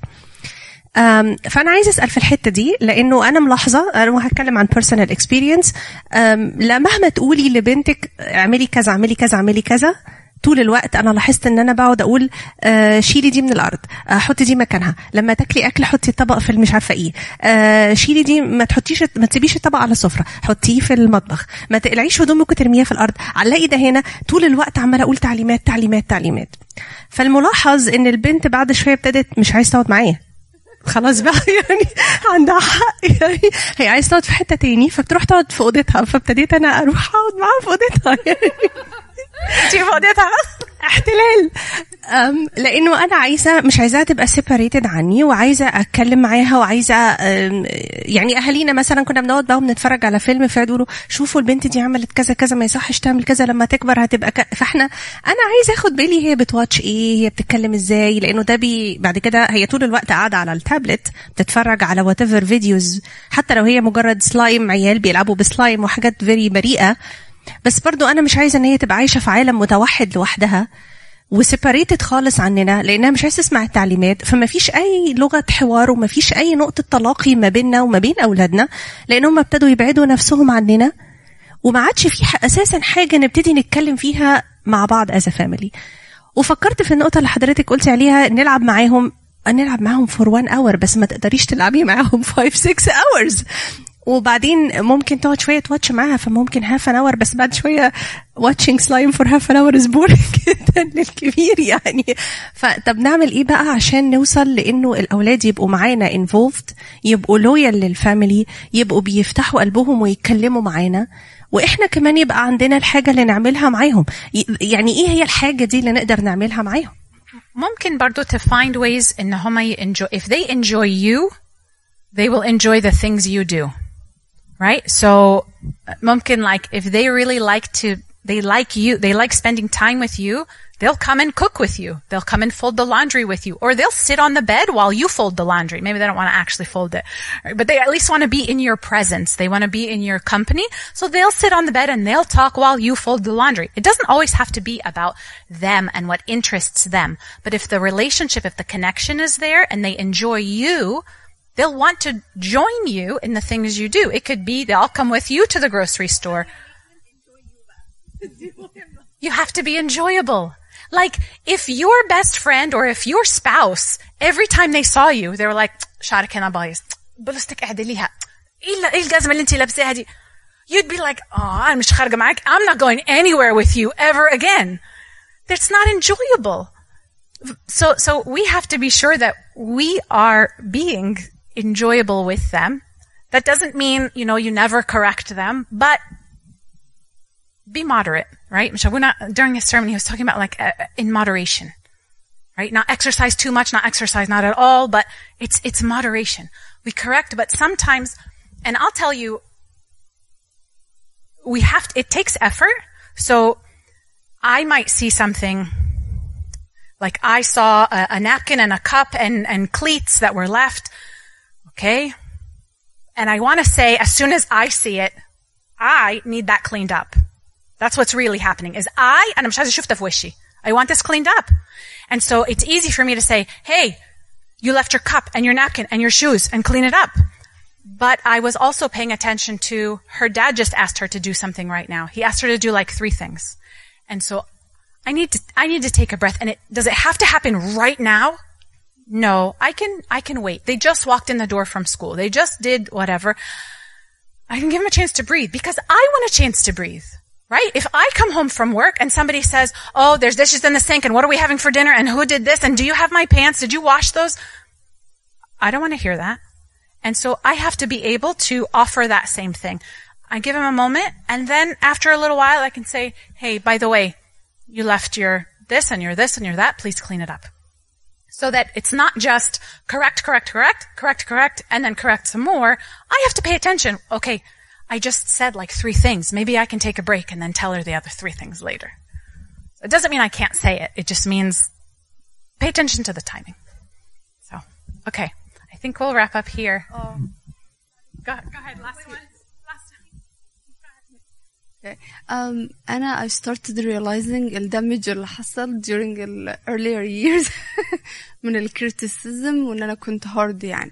فأنا عايزة أسأل في الحتة دي، لأنه أنا ملاحظة، أنا هتكلم عن personal experience. لا مهما تقولي لبنتك اعملي كذا اعملي كذا اعملي كذا، طول الوقت أنا لاحظت إن أنا بقعد أقول شيلي دي من الأرض، حطي دي مكانها، لما تاكلي أكل حطي الطبق في المش عارفة إيه، شيلي دي، ما تسيبيش الطبق على السفرة، حطيه في المطبخ، ما تقلعيش هدومك وترميها في الأرض، علقي ده هنا. طول الوقت عمالة أقول تعليمات تعليمات تعليمات. فالملاحظ إن البنت بعد شوية ابتدت مش عايز تقعد معايا، خلاص بقى يعني عندها حق، يعني هي عايز تقعد في حتة تاني، فبتروح تقعد في أوضتها. فابتديت أنا أروح أقعد معاها في أوضتها يعني في أوضتها احتلال. لأنه أنا مش عايزاها تبقى separated عني، وعايزة أتكلم معاها، وعايزة يعني أهالينا مثلا كنا بنقعد بقى ونتفرج على فيلم، فيقولوا شوفوا البنت دي عملت كذا كذا، ما يصحش تعمل كذا، لما تكبر هتبقى فاحنا أنا عايزة أخد بالي هي بتواتش إيه، هي بتتكلم إزاي، لأنه ده بعد كده هي طول الوقت قاعدة على التابلت بتتفرج على whatever فيديوز، حتى لو هي مجرد سلايم، عيال بيلعبوا بسلايم وحاجات very بريئة، بس برضو أنا مش عايزة إن هي تبقى عايشة في عالم متوحد لوحدها وسيباريتد خالص عننا، لأنها مش عايزة تسمع التعليمات. فما فيش أي لغة حوار، وما فيش أي نقطة تلاقي ما بيننا وما بين أولادنا، لأنهم ابتدوا يبعدوا نفسهم عننا، وما عادش في أساسا حاجة نبتدي نتكلم فيها مع بعض as a family. وفكرت في النقطة اللي حضرتك قلتي عليها، نلعب معاهم for 1 hour، بس ما تقدريش تلعبي معاهم 5-6 hours. وبعدين ممكن تقعد شوية تواتش معاها، فممكن half an hour، بس بعد شوية watching slime for half an hour is boring جدا للكبير يعني. فطب نعمل ايه بقى عشان نوصل لانه الاولاد يبقوا معانا involved، يبقوا loyal للفاميلي، يبقوا بيفتحوا قلبهم ويتكلموا معانا، واحنا كمان يبقى عندنا الحاجة اللي نعملها معاهم. يعني ايه هي الحاجة دي اللي نقدر نعملها معاهم؟ ممكن برضو to find ways ان هم if they enjoy you, they will enjoy the things you do. Right? So, ممكن like if they really they like you, they like spending time with you, they'll come and cook with you. They'll come and fold the laundry with you. Or they'll sit on the bed while you fold the laundry. Maybe they don't want to actually fold it. But they at least want to be in your presence. They want to be in your company. So they'll sit on the bed and they'll talk while you fold the laundry. It doesn't always have to be about them and what interests them. But if the relationship, if the connection is there and they enjoy you, they'll want to join you in the things you do. It could be they'll come with you to the grocery store. You have to be enjoyable. Like, if your best friend or if your spouse, every time they saw you, they were like, شعرك هنا بايظ، بلوستك اعدليها، ايه الجزمة اللي انتي لابساها دي. you'd be like, oh, I'm not going anywhere with you ever again. That's not enjoyable. So we have to be sure that we are being enjoyable with them. That doesn't mean, you never correct them, but be moderate, right? Michelle, during his sermon, he was talking about in moderation, right? Not exercise too much, not exercise not at all, but it's moderation. We correct, but sometimes, and I'll tell you, it takes effort. So I might see something, like I saw a napkin and a cup and cleats that were left, okay? And I want to say, as soon as I see it, I need that cleaned up. That's what's really happening, is I want this cleaned up. And so it's easy for me to say, hey, you left your cup and your napkin and your shoes and clean it up. But I was also paying attention to her dad just asked her to do something right now. He asked her to do 3 things. And so I need to take a breath. And does it have to happen right now? No, I can wait. They just walked in the door from school. They just did whatever. I can give them a chance to breathe because I want a chance to breathe. Right? If I come home from work and somebody says, oh, there's dishes in the sink and what are we having for dinner and who did this and do you have my pants? Did you wash those? I don't want to hear that. And so I have to be able to offer that same thing. I give him a moment and then after a little while I can say, hey, by the way, you left your this and your this and your that. Please clean it up. So that it's not just correct, and then correct some more. I have to pay attention. Okay. I just said 3 things. Maybe I can take a break and then tell her the other 3 things later. It doesn't mean I can't say it. It just means pay attention to the timing. So, okay. I think we'll wrap up here. Go ahead. Last one. Okay. I started realizing the damage اللي حصل during the earlier years من الكريتيسيزم وإن أنا كنت hard يعني.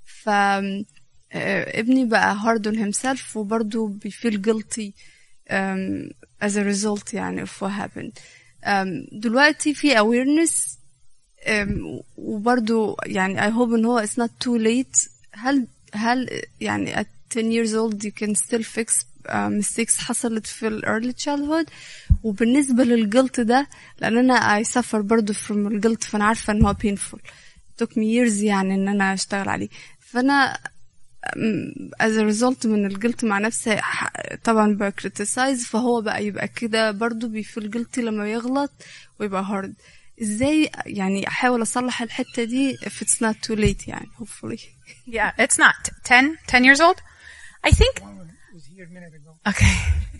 ابني بقى hard on himself وبرضه بيفيل guilty as a result يعني of what happened. دلوقتي في awareness وبرضه يعني I hope إن هو it's not too late. هل يعني at 10 years old you can still fix mistakes حصلت في ال early childhood. وبالنسبة للguilt ده لأن أنا I suffer برضه from الguilt فأنا عارفة إن هو painful. It took me years يعني إن أنا أشتغل عليه. فأنا as a result من الجلط مع نفسي طبعا بكريتيسايز فهو بقى يبقى كده برضو بيفيل جلطي لما يغلط ويبقى هارد. ازاي يعني احاول اصلح الحتة دي if it's not too late يعني hopefully. Yeah, it's not 10 years old. I think was here a minute ago. Okay.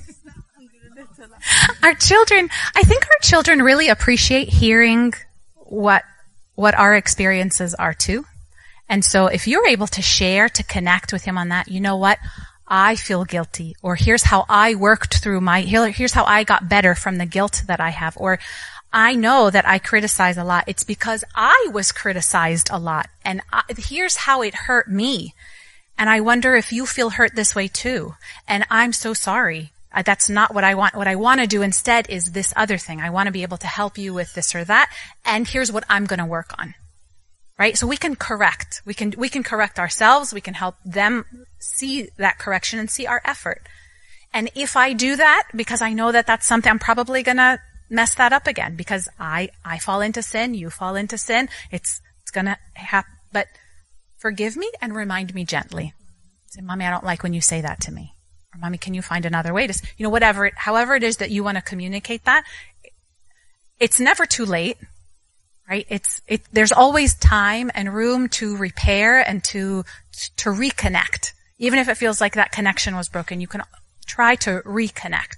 I think our children really appreciate hearing what our experiences are too. And so if you're able to share, to connect with him on that, you know what? I feel guilty. Or here's how I worked through here's how I got better from the guilt that I have. Or I know that I criticize a lot. It's because I was criticized a lot. And here's how it hurt me. And I wonder if you feel hurt this way too. And I'm so sorry. That's not what I want. What I want to do instead is this other thing. I want to be able to help you with this or that. And here's what I'm going to work on. Right? So we can correct. We can correct ourselves. We can help them see that correction and see our effort. And if I do that, because I know that that's something, I'm probably gonna mess that up again because I fall into sin, you fall into sin. It's gonna happen. But forgive me and remind me gently. Say, Mommy, I don't like when you say that to me. Or Mommy, can you find another way to, however it is that you want to communicate that. It's never too late. Right? There's always time and room to repair and to reconnect. Even if it feels like that connection was broken, you can try to reconnect.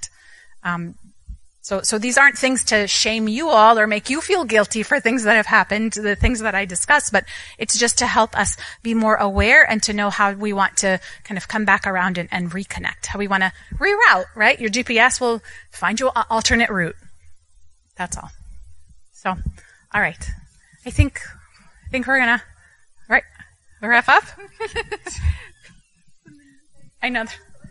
So these aren't things to shame you all or make you feel guilty for things that have happened, the things that I discussed, but it's just to help us be more aware and to know how we want to kind of come back around and reconnect, how we want to reroute, right? Your GPS will find you an alternate route. That's all. So, all right. I think we're gonna, right, wrap up. I know.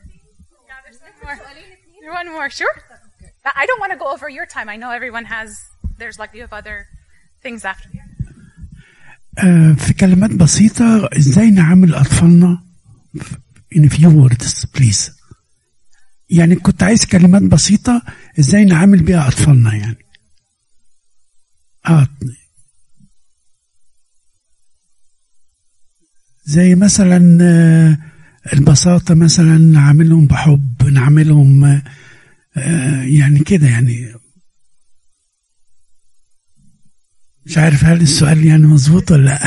There's one more. Sure. I don't want to go over your time. I know everyone you have other things after. في كلمات بسيطة ازاي نعامل أطفالنا in a few words please. يعني كنت عايز كلمات بسيطة ازاي نعامل بيها اطفالنا يعني. زي مثلا البساطة، مثلا نعاملهم بحب، نعاملهم يعني كده يعني. مش عارف هل السؤال يعني مظبوط ولا لا.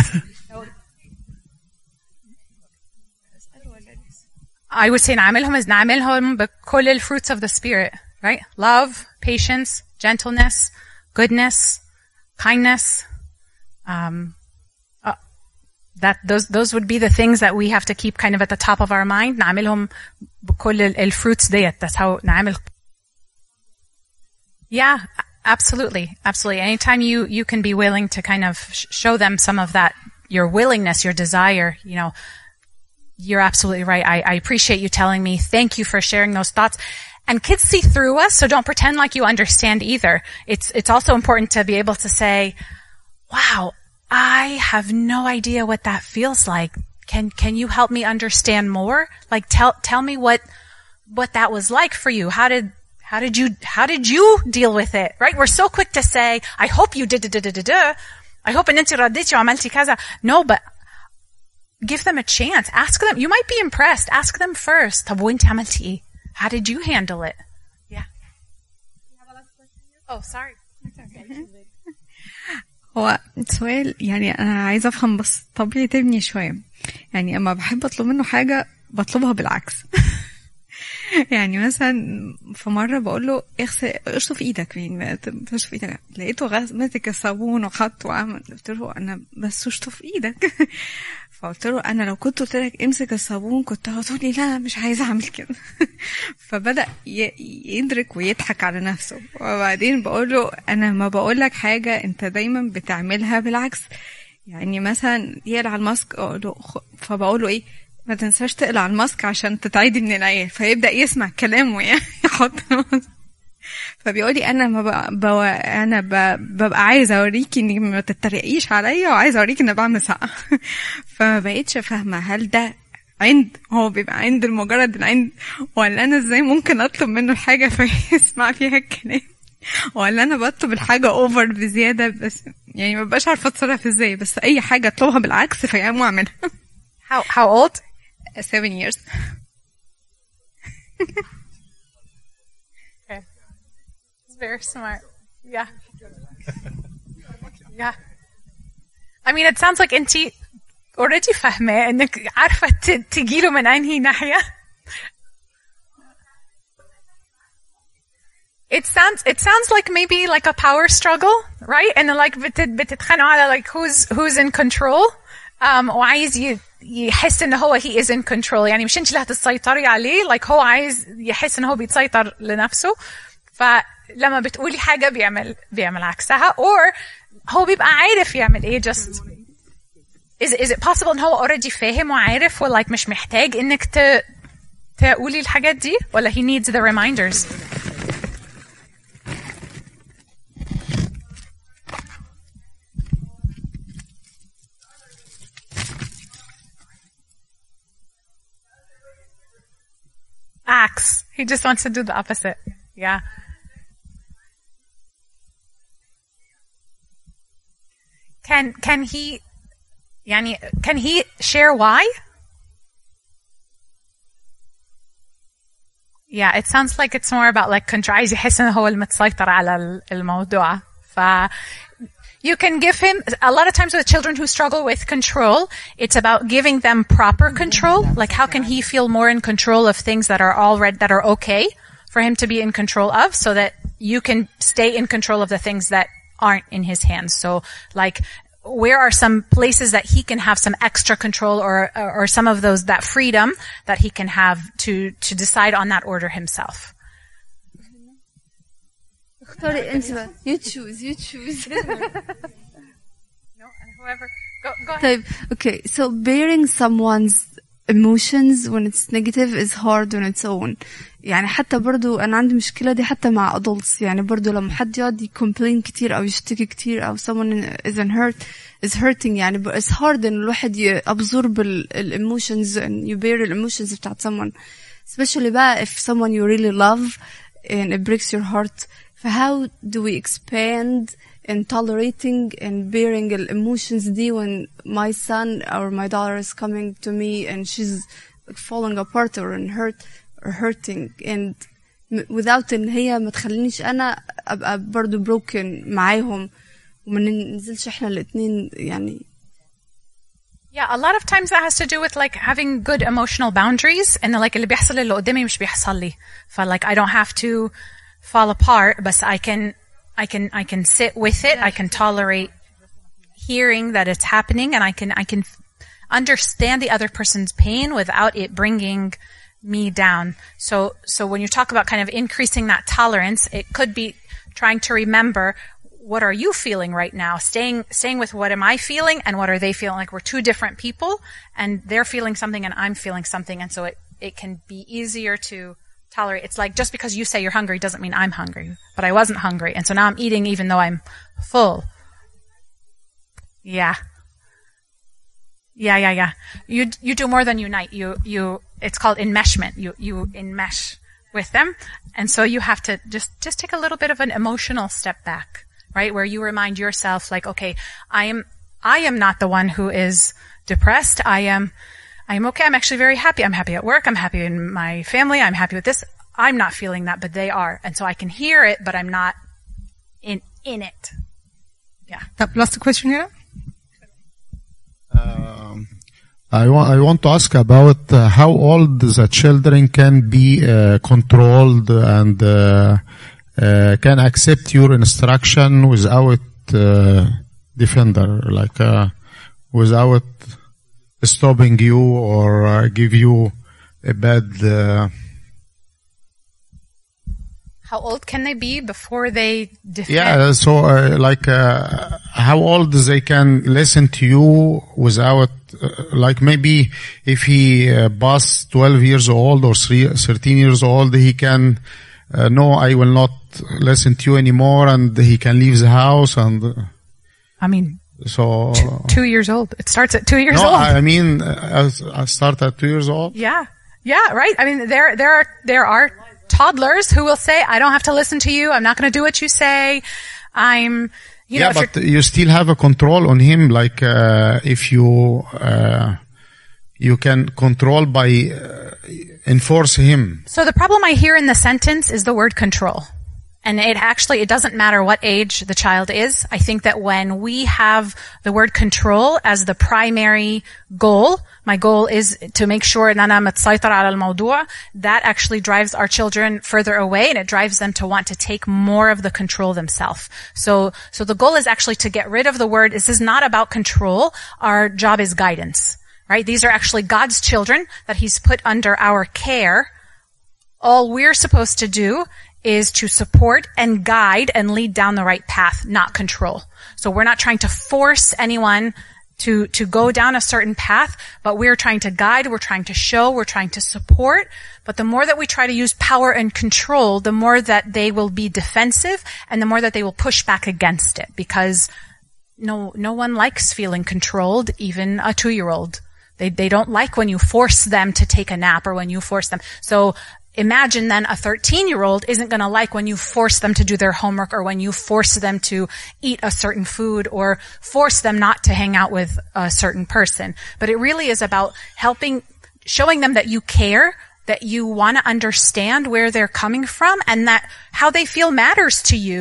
I would say نعاملهم بكل ال fruits of the spirit, right? Love, patience, gentleness, goodness, kindness. Those would be the things that we have to keep kind of at the top of our mind. نعاملهم بكل ال fruits ديت. That's how نعامل. Yeah, absolutely. Absolutely. Anytime you can be willing to kind of show them some of that, your willingness, your desire, you know, you're absolutely right. I appreciate you telling me. Thank you for sharing those thoughts. And kids see through us, so don't pretend like you understand either. It's also important to be able to say, wow, I have no idea what that feels like. Can you help me understand more? Like tell me what that was like for you. How did you deal with it? Right? We're so quick to say, I hope you did. I hope ان انت رديتي وعملتي كذا. No, but give them a chance. Ask them. You might be impressed. Ask them first. طب وانت عملتي ايه? How did you handle it? Yeah. You have a last question? Oh, sorry. هو سؤال يعني أنا عايزة أفهم بس طبيعة ابني شوية. يعني أما بحب أطلب منه حاجة بطلبها بالعكس. يعني مثلا في مرة بقول له اشطف ايدك، يعني اشطف ايدك، لقيته ماسك الصابون وحط وعمل. قلت له انا بس اشطف ايدك. فقلت له انا لو كنت قلت لك امسك الصابون كنت هتقول لي لا مش عايزه اعمل كده. فبدأ يدرك ويضحك على نفسه. وبعدين بقول له انا ما بقول لك حاجه انت دايما بتعملها بالعكس. يعني مثلا يقلع الماسك فبقول له ايه، ما تنساش تقلع الماسك عشان تتعيدي من العيال. فيبدأ يسمع كلامه يعني يحط الماسك. فبيقولي انا ببقى عايزه اوريكي انك ما تتريقيش عليا، وعايزه اوريكي ان بعمل صح. فما بقيتش فاهمه هل ده هو بيبقى عند المجرد العند، ولا انا ازاي ممكن اطلب منه الحاجه فيسمع فيها الكلام، ولا انا بطلب الحاجه اوفر بزياده بس يعني ما بقاش عارفه اتصرف ازاي، بس اي حاجه اطلبها بالعكس فيقوم اعملها. How old? 7 years. Okay. It's very smart. Yeah. Yeah. I mean, it sounds like انتي already فاهمة انك عارفة تجيله من انهي ناحية. It sounds like maybe like a power struggle, right? And like بتتخانقوا على like who's in control. وعايز يحس ان هو he is in control. يعني مش انت اللي هتسيطري عليه، like هو عايز يحس ان هو بيتسيطر لنفسه. فلما بتقولي حاجة بيعمل عكسها، or هو بيبقى عارف يعمل ايه. just is it possible ان هو already فاهم وعارف و like مش محتاج انك تقولي الحاجات دي، ولا he needs the reminders؟ Acts. He just wants to do the opposite. Yeah. Can he share why? Yeah, it sounds like it's more about like control. عايز يحس إنه هو المتسيطر على الموضوع. You can give him, a lot of times with children who struggle with control, it's about giving them proper control. Like how can he feel more in control of things that are okay for him to be in control of, so that you can stay in control of the things that aren't in his hands. So like, where are some places that he can have some extra control or some of that freedom that he can have to decide on that order himself. You choose. No, and whoever, go ahead. طيب, okay, so bearing someone's emotions when it's negative is hard on its own. يعني حتى برضو أنا عندي مشكلة دي حتى مع adults. يعني برضو لما حد يقعد complain كتير أو يشتكي كتير أو someone is hurting, يعني it's hard إن الواحد absorb emotions and you bear emotions بتاعت someone. especially بقى if someone you really love and it breaks your heart. How do we expand in tolerating and bearing the emotions دي when my son or my daughter is coming to me and she's falling apart or hurting and without ان هي ما تخلينيش انا ابقى برضو broken معاهم وما ننزلش احنا الاتنين يعني. Yeah, a lot of times that has to do with like having good emotional boundaries and like اللي بيحصل اللي قدامي مش بيحصل لي. ف like I don't have to fall apart, but I can sit with it. I can tolerate hearing that it's happening, and I can understand the other person's pain without it bringing me down. So when you talk about kind of increasing that tolerance, it could be trying to remember, what are you feeling right now? Staying with what am I feeling and what are they feeling? Like we're two different people and they're feeling something and I'm feeling something. And so it can be easier to tolerate. It's like just because you say you're hungry doesn't mean I'm hungry, but I wasn't hungry. And so now I'm eating even though I'm full. Yeah. You do more than unite. It's called enmeshment. You enmesh with them. And so you have to just take a little bit of an emotional step back, right? Where you remind yourself like, okay, I am not the one who is depressed. I am okay. I'm actually very happy. I'm happy at work. I'm happy in my family. I'm happy with this. I'm not feeling that, but they are. And so I can hear it, but I'm not in it. Yeah. Last question here. I want to ask about how old the children can be controlled and can accept your instruction without defender, like without stopping you or give you a bad. How old can they be before they defend? Yeah, so how old they can listen to you without, like maybe if he past 12 years old or 13 years old, he can, no, I will not listen to you anymore, and he can leave the house. And I mean, so 2 years old. It starts at 2 years no, old. I mean, I start at 2 years old. Yeah, right. I mean, there are toddlers who will say, I don't have to listen to you. I'm not going to do what you say. You know, but you still have a control on him. Like, if you can control by enforce him. So the problem I hear in the sentence is the word control. And it doesn't matter what age the child is. I think that when we have the word control as the primary goal, my goal is to make sure that actually drives our children further away, and it drives them to want to take more of the control themselves. So the goal is actually to get rid of the word. This is not about control. Our job is guidance, right? These are actually God's children that He's put under our care. All we're supposed to do is to support and guide and lead down the right path, not control. So we're not trying to force anyone to go down a certain path, but we're trying to guide, we're trying to show, we're trying to support. But the more that we try to use power and control, the more that they will be defensive and the more that they will push back against it, because no one likes feeling controlled, even a 2-year-old. They don't like when you force them to take a nap or when you force them. So imagine then a 13-year-old isn't going to like when you force them to do their homework or when you force them to eat a certain food or force them not to hang out with a certain person. But it really is about showing them that you care, that you want to understand where they're coming from, and that how they feel matters to you,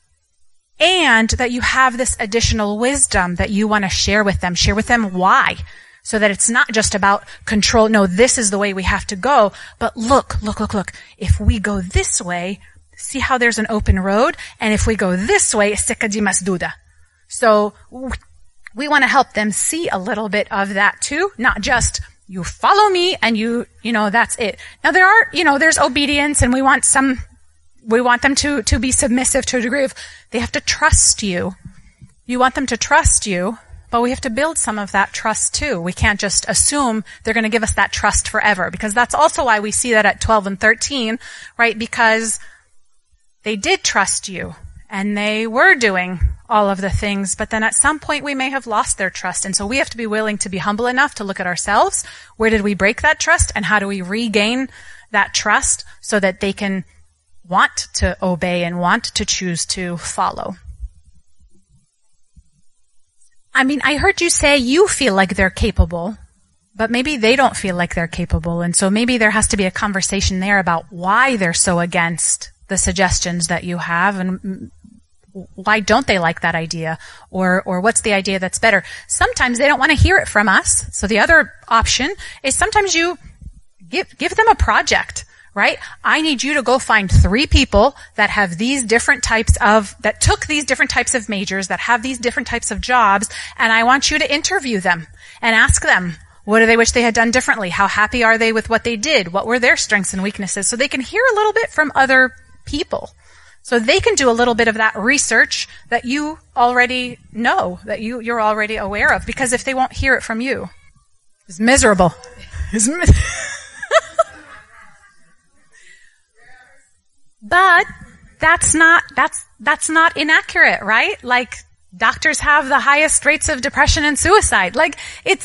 and that you have this additional wisdom that you want to share with them why. So that it's not just about control. No, this is the way we have to go. But look. If we go this way, see how there's an open road. And if we go this way, السكة دي مسدودة. So we want to help them see a little bit of that too. Not just you follow me and you know, that's it. Now there's obedience, and we want them to be submissive to a degree of, they have to trust you. You want them to trust you. But we have to build some of that trust too. We can't just assume they're going to give us that trust forever, because that's also why we see that at 12 and 13, right? Because they did trust you and they were doing all of the things, but then at some point we may have lost their trust. And so we have to be willing to be humble enough to look at ourselves. Where did we break that trust, and how do we regain that trust so that they can want to obey and want to choose to follow. I mean, I heard you say you feel like they're capable, but maybe they don't feel like they're capable. And so maybe there has to be a conversation there about why they're so against the suggestions that you have, and why don't they like that idea, or what's the idea that's better. Sometimes they don't want to hear it from us. So the other option is sometimes you give them a project, right? I need you to go find 3 people that have these different types of, that took these different types of majors, that have these different types of jobs, and I want you to interview them and ask them, what do they wish they had done differently? How happy are they with what they did? What were their strengths and weaknesses? So they can hear a little bit from other people. So they can do a little bit of that research that you already know, that you're already aware of, because if they won't hear it from you, it's miserable. But that's not inaccurate, right? Like, doctors have the highest rates of depression and suicide. Like,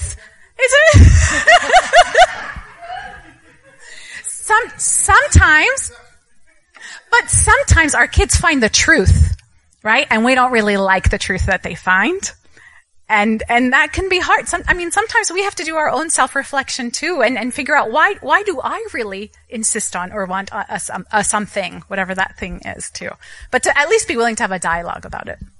sometimes our kids find the truth, right? And we don't really like the truth that they find. And that can be hard. Sometimes we have to do our own self-reflection too, and figure out why do I really insist on or want a something, whatever that thing is too. But to at least be willing to have a dialogue about it.